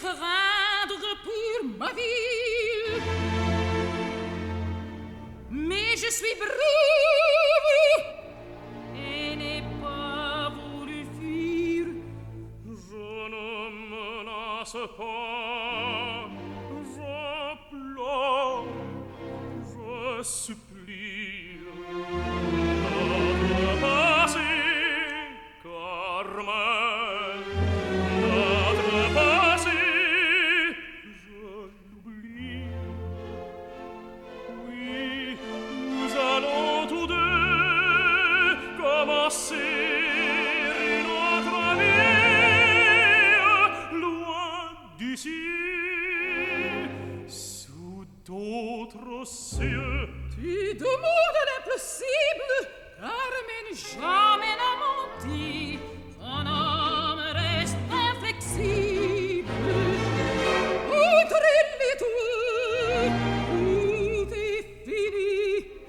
craindre pour ma vie. Mais je suis brave et n'ai pas voulu fuir. Je ne menace pas, je pleure, je supplie. Notre passé, Carmen, notre passé, je l'oublie. Oui, nous allons tous deux commencer notre vie loin d'ici, sous d'autres cieux. Tu demandes l'impossible, Carmen, jamais n'a menti. Un homme reste inflexible. Entre elle et toi, tout est fini.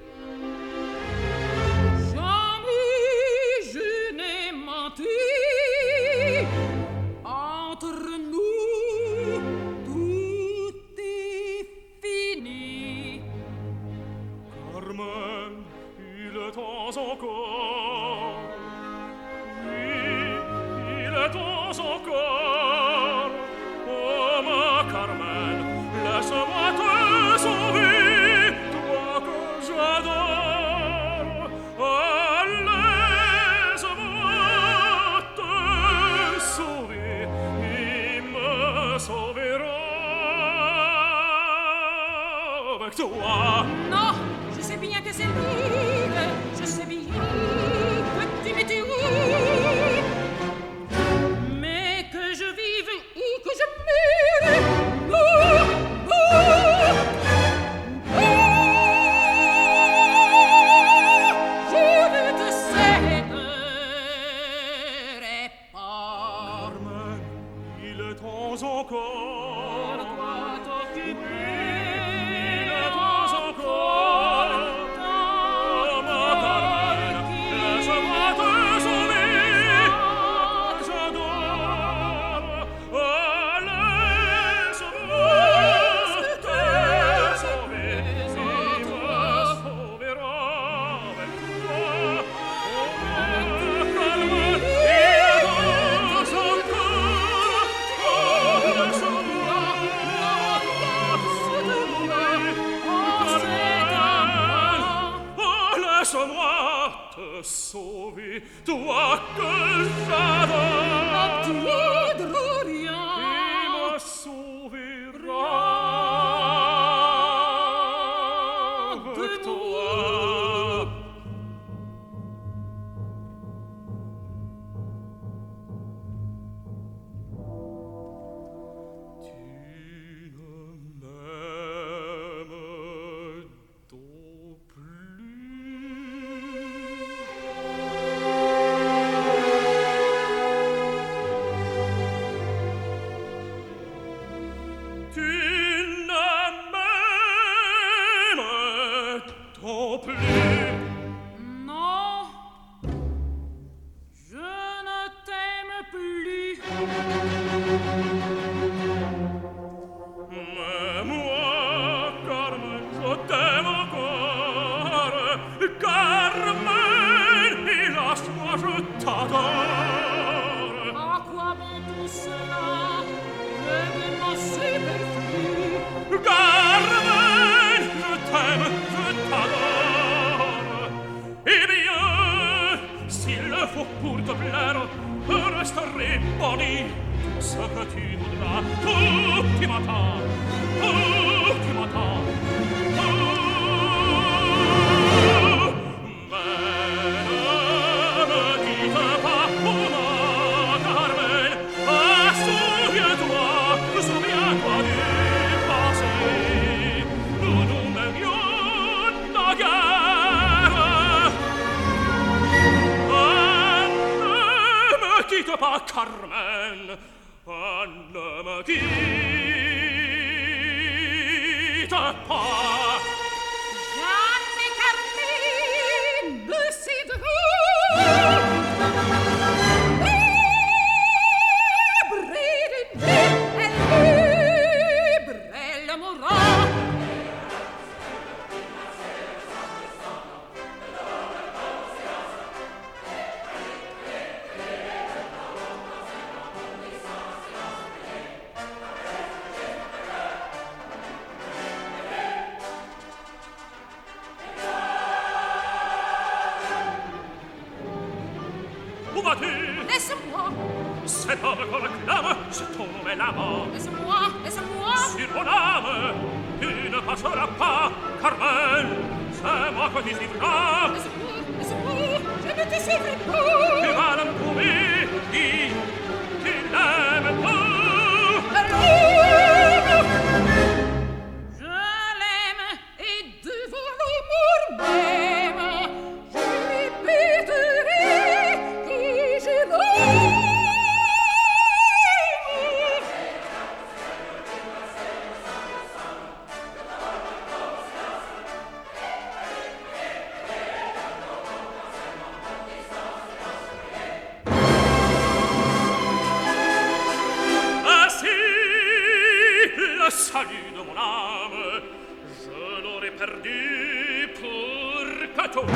Jamais je n'ai menti. Entre nous, tout est fini. Carmen, il est temps encore. Oui, il est temps encore. Oh, ma Carmen, laisse-moi te sauver, toi que j'adore. Ah, laisse-moi te sauver, il me sauvera avec toi. Non, je sais bien que c'est libre. Je sais bien que tu m'étais mais que je vive ou que je meure. Non, non, non. Je veux te séparer pas. Carmen, il est temps encore. Pourquoi t'occuper? Il est temps encore. Oh, ma Carmen, laisse-moi te sauver. J'adore. Oh, laisse-moi te sauver. Il me sauvera avec toi. Oh, ma Carmen, il est temps encore. Oh, laisse-moi. Oh, laisse-moi te sauver, toi que j'adore. Tu voudras rien. Il me sauvera avec toi. Tu ne m'aimes donc plus. Tu ne m'aimes donc plus. Non, je ne t'aime plus. Mais moi, Carmen, je t'aime encore. Carmen, hélas, moi je t'adore. À quoi bon tout cela? Vraiment superflu. Carmen, je t'aime, je t'adore. Eh bien, s'il le faut pour te plaire, je resterai poli. Ce que tu voudras, tout qui m'attend, tout qui m'attend. Mais ne me quitte pas, oh ma Carmen. Ah, souviens-toi du passé. Nous nous m'aimions naguère. Ah, ne me quitte pas, Carmen. Ah, ne me quitte pas. Jamais Carmen ne cédera. Libre d'une vie, elle où vas-tu? Laisse-moi, Cet homme qu'on acclame, c'est ton nom est l'amant. laisse-moi, laisse-moi. Sur mon âme, tu ne passeras pas, Carmen, c'est moi que tu suivras. Laisse-moi, laisse-moi, je ne te suivrai Tu pas. vas l'en trouver, dis, tu l'aimes pas. Je l'aime et devant l'amour même, je répéterai que je l'aime. Ah si, le salut de mon âme, je l'aurais perdu pour que toi,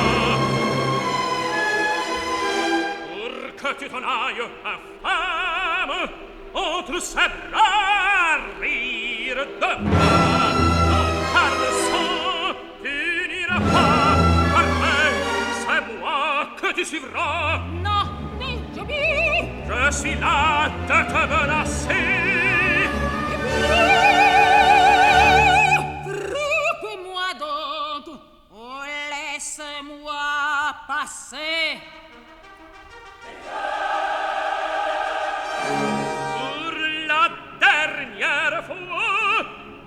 pour que tu t'en ailles, infâme, entre ses bras rire de moi. Non, car le sang, tu n'iras pas, Carmen, c'est moi que tu suivras. Non, non, j'obéis. Je suis là de te menacer. Frappe-moi donc, oh laisse-moi passer. Pour la dernière fois,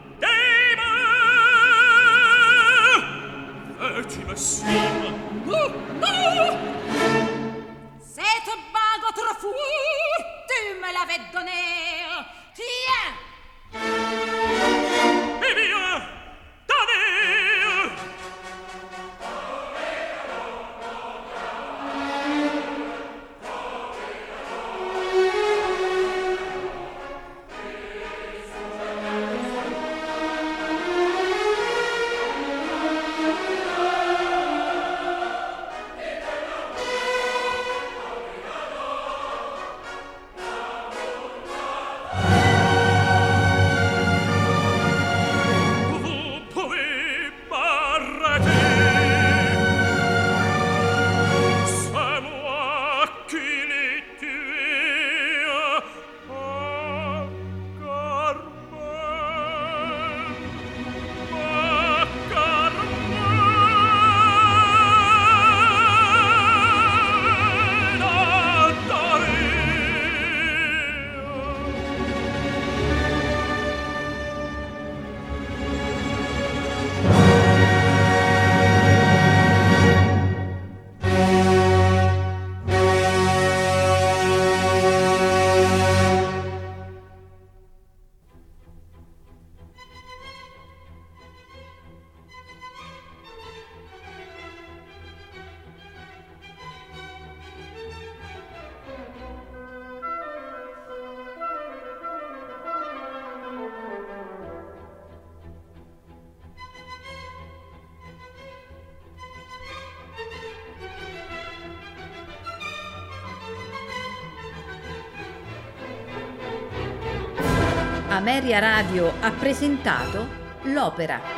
dis-moi, veux-tu me suivre? Oh, non! Cette bague autrefois, tu me l'avais donnée. Tiens! Eh bien, donnez! Vous pouvez m'arrêter. C'est moi qui l'ai tué. Ah, Carmen, ah, Carmen, adorée. Ameria Radio ha presentato l'opera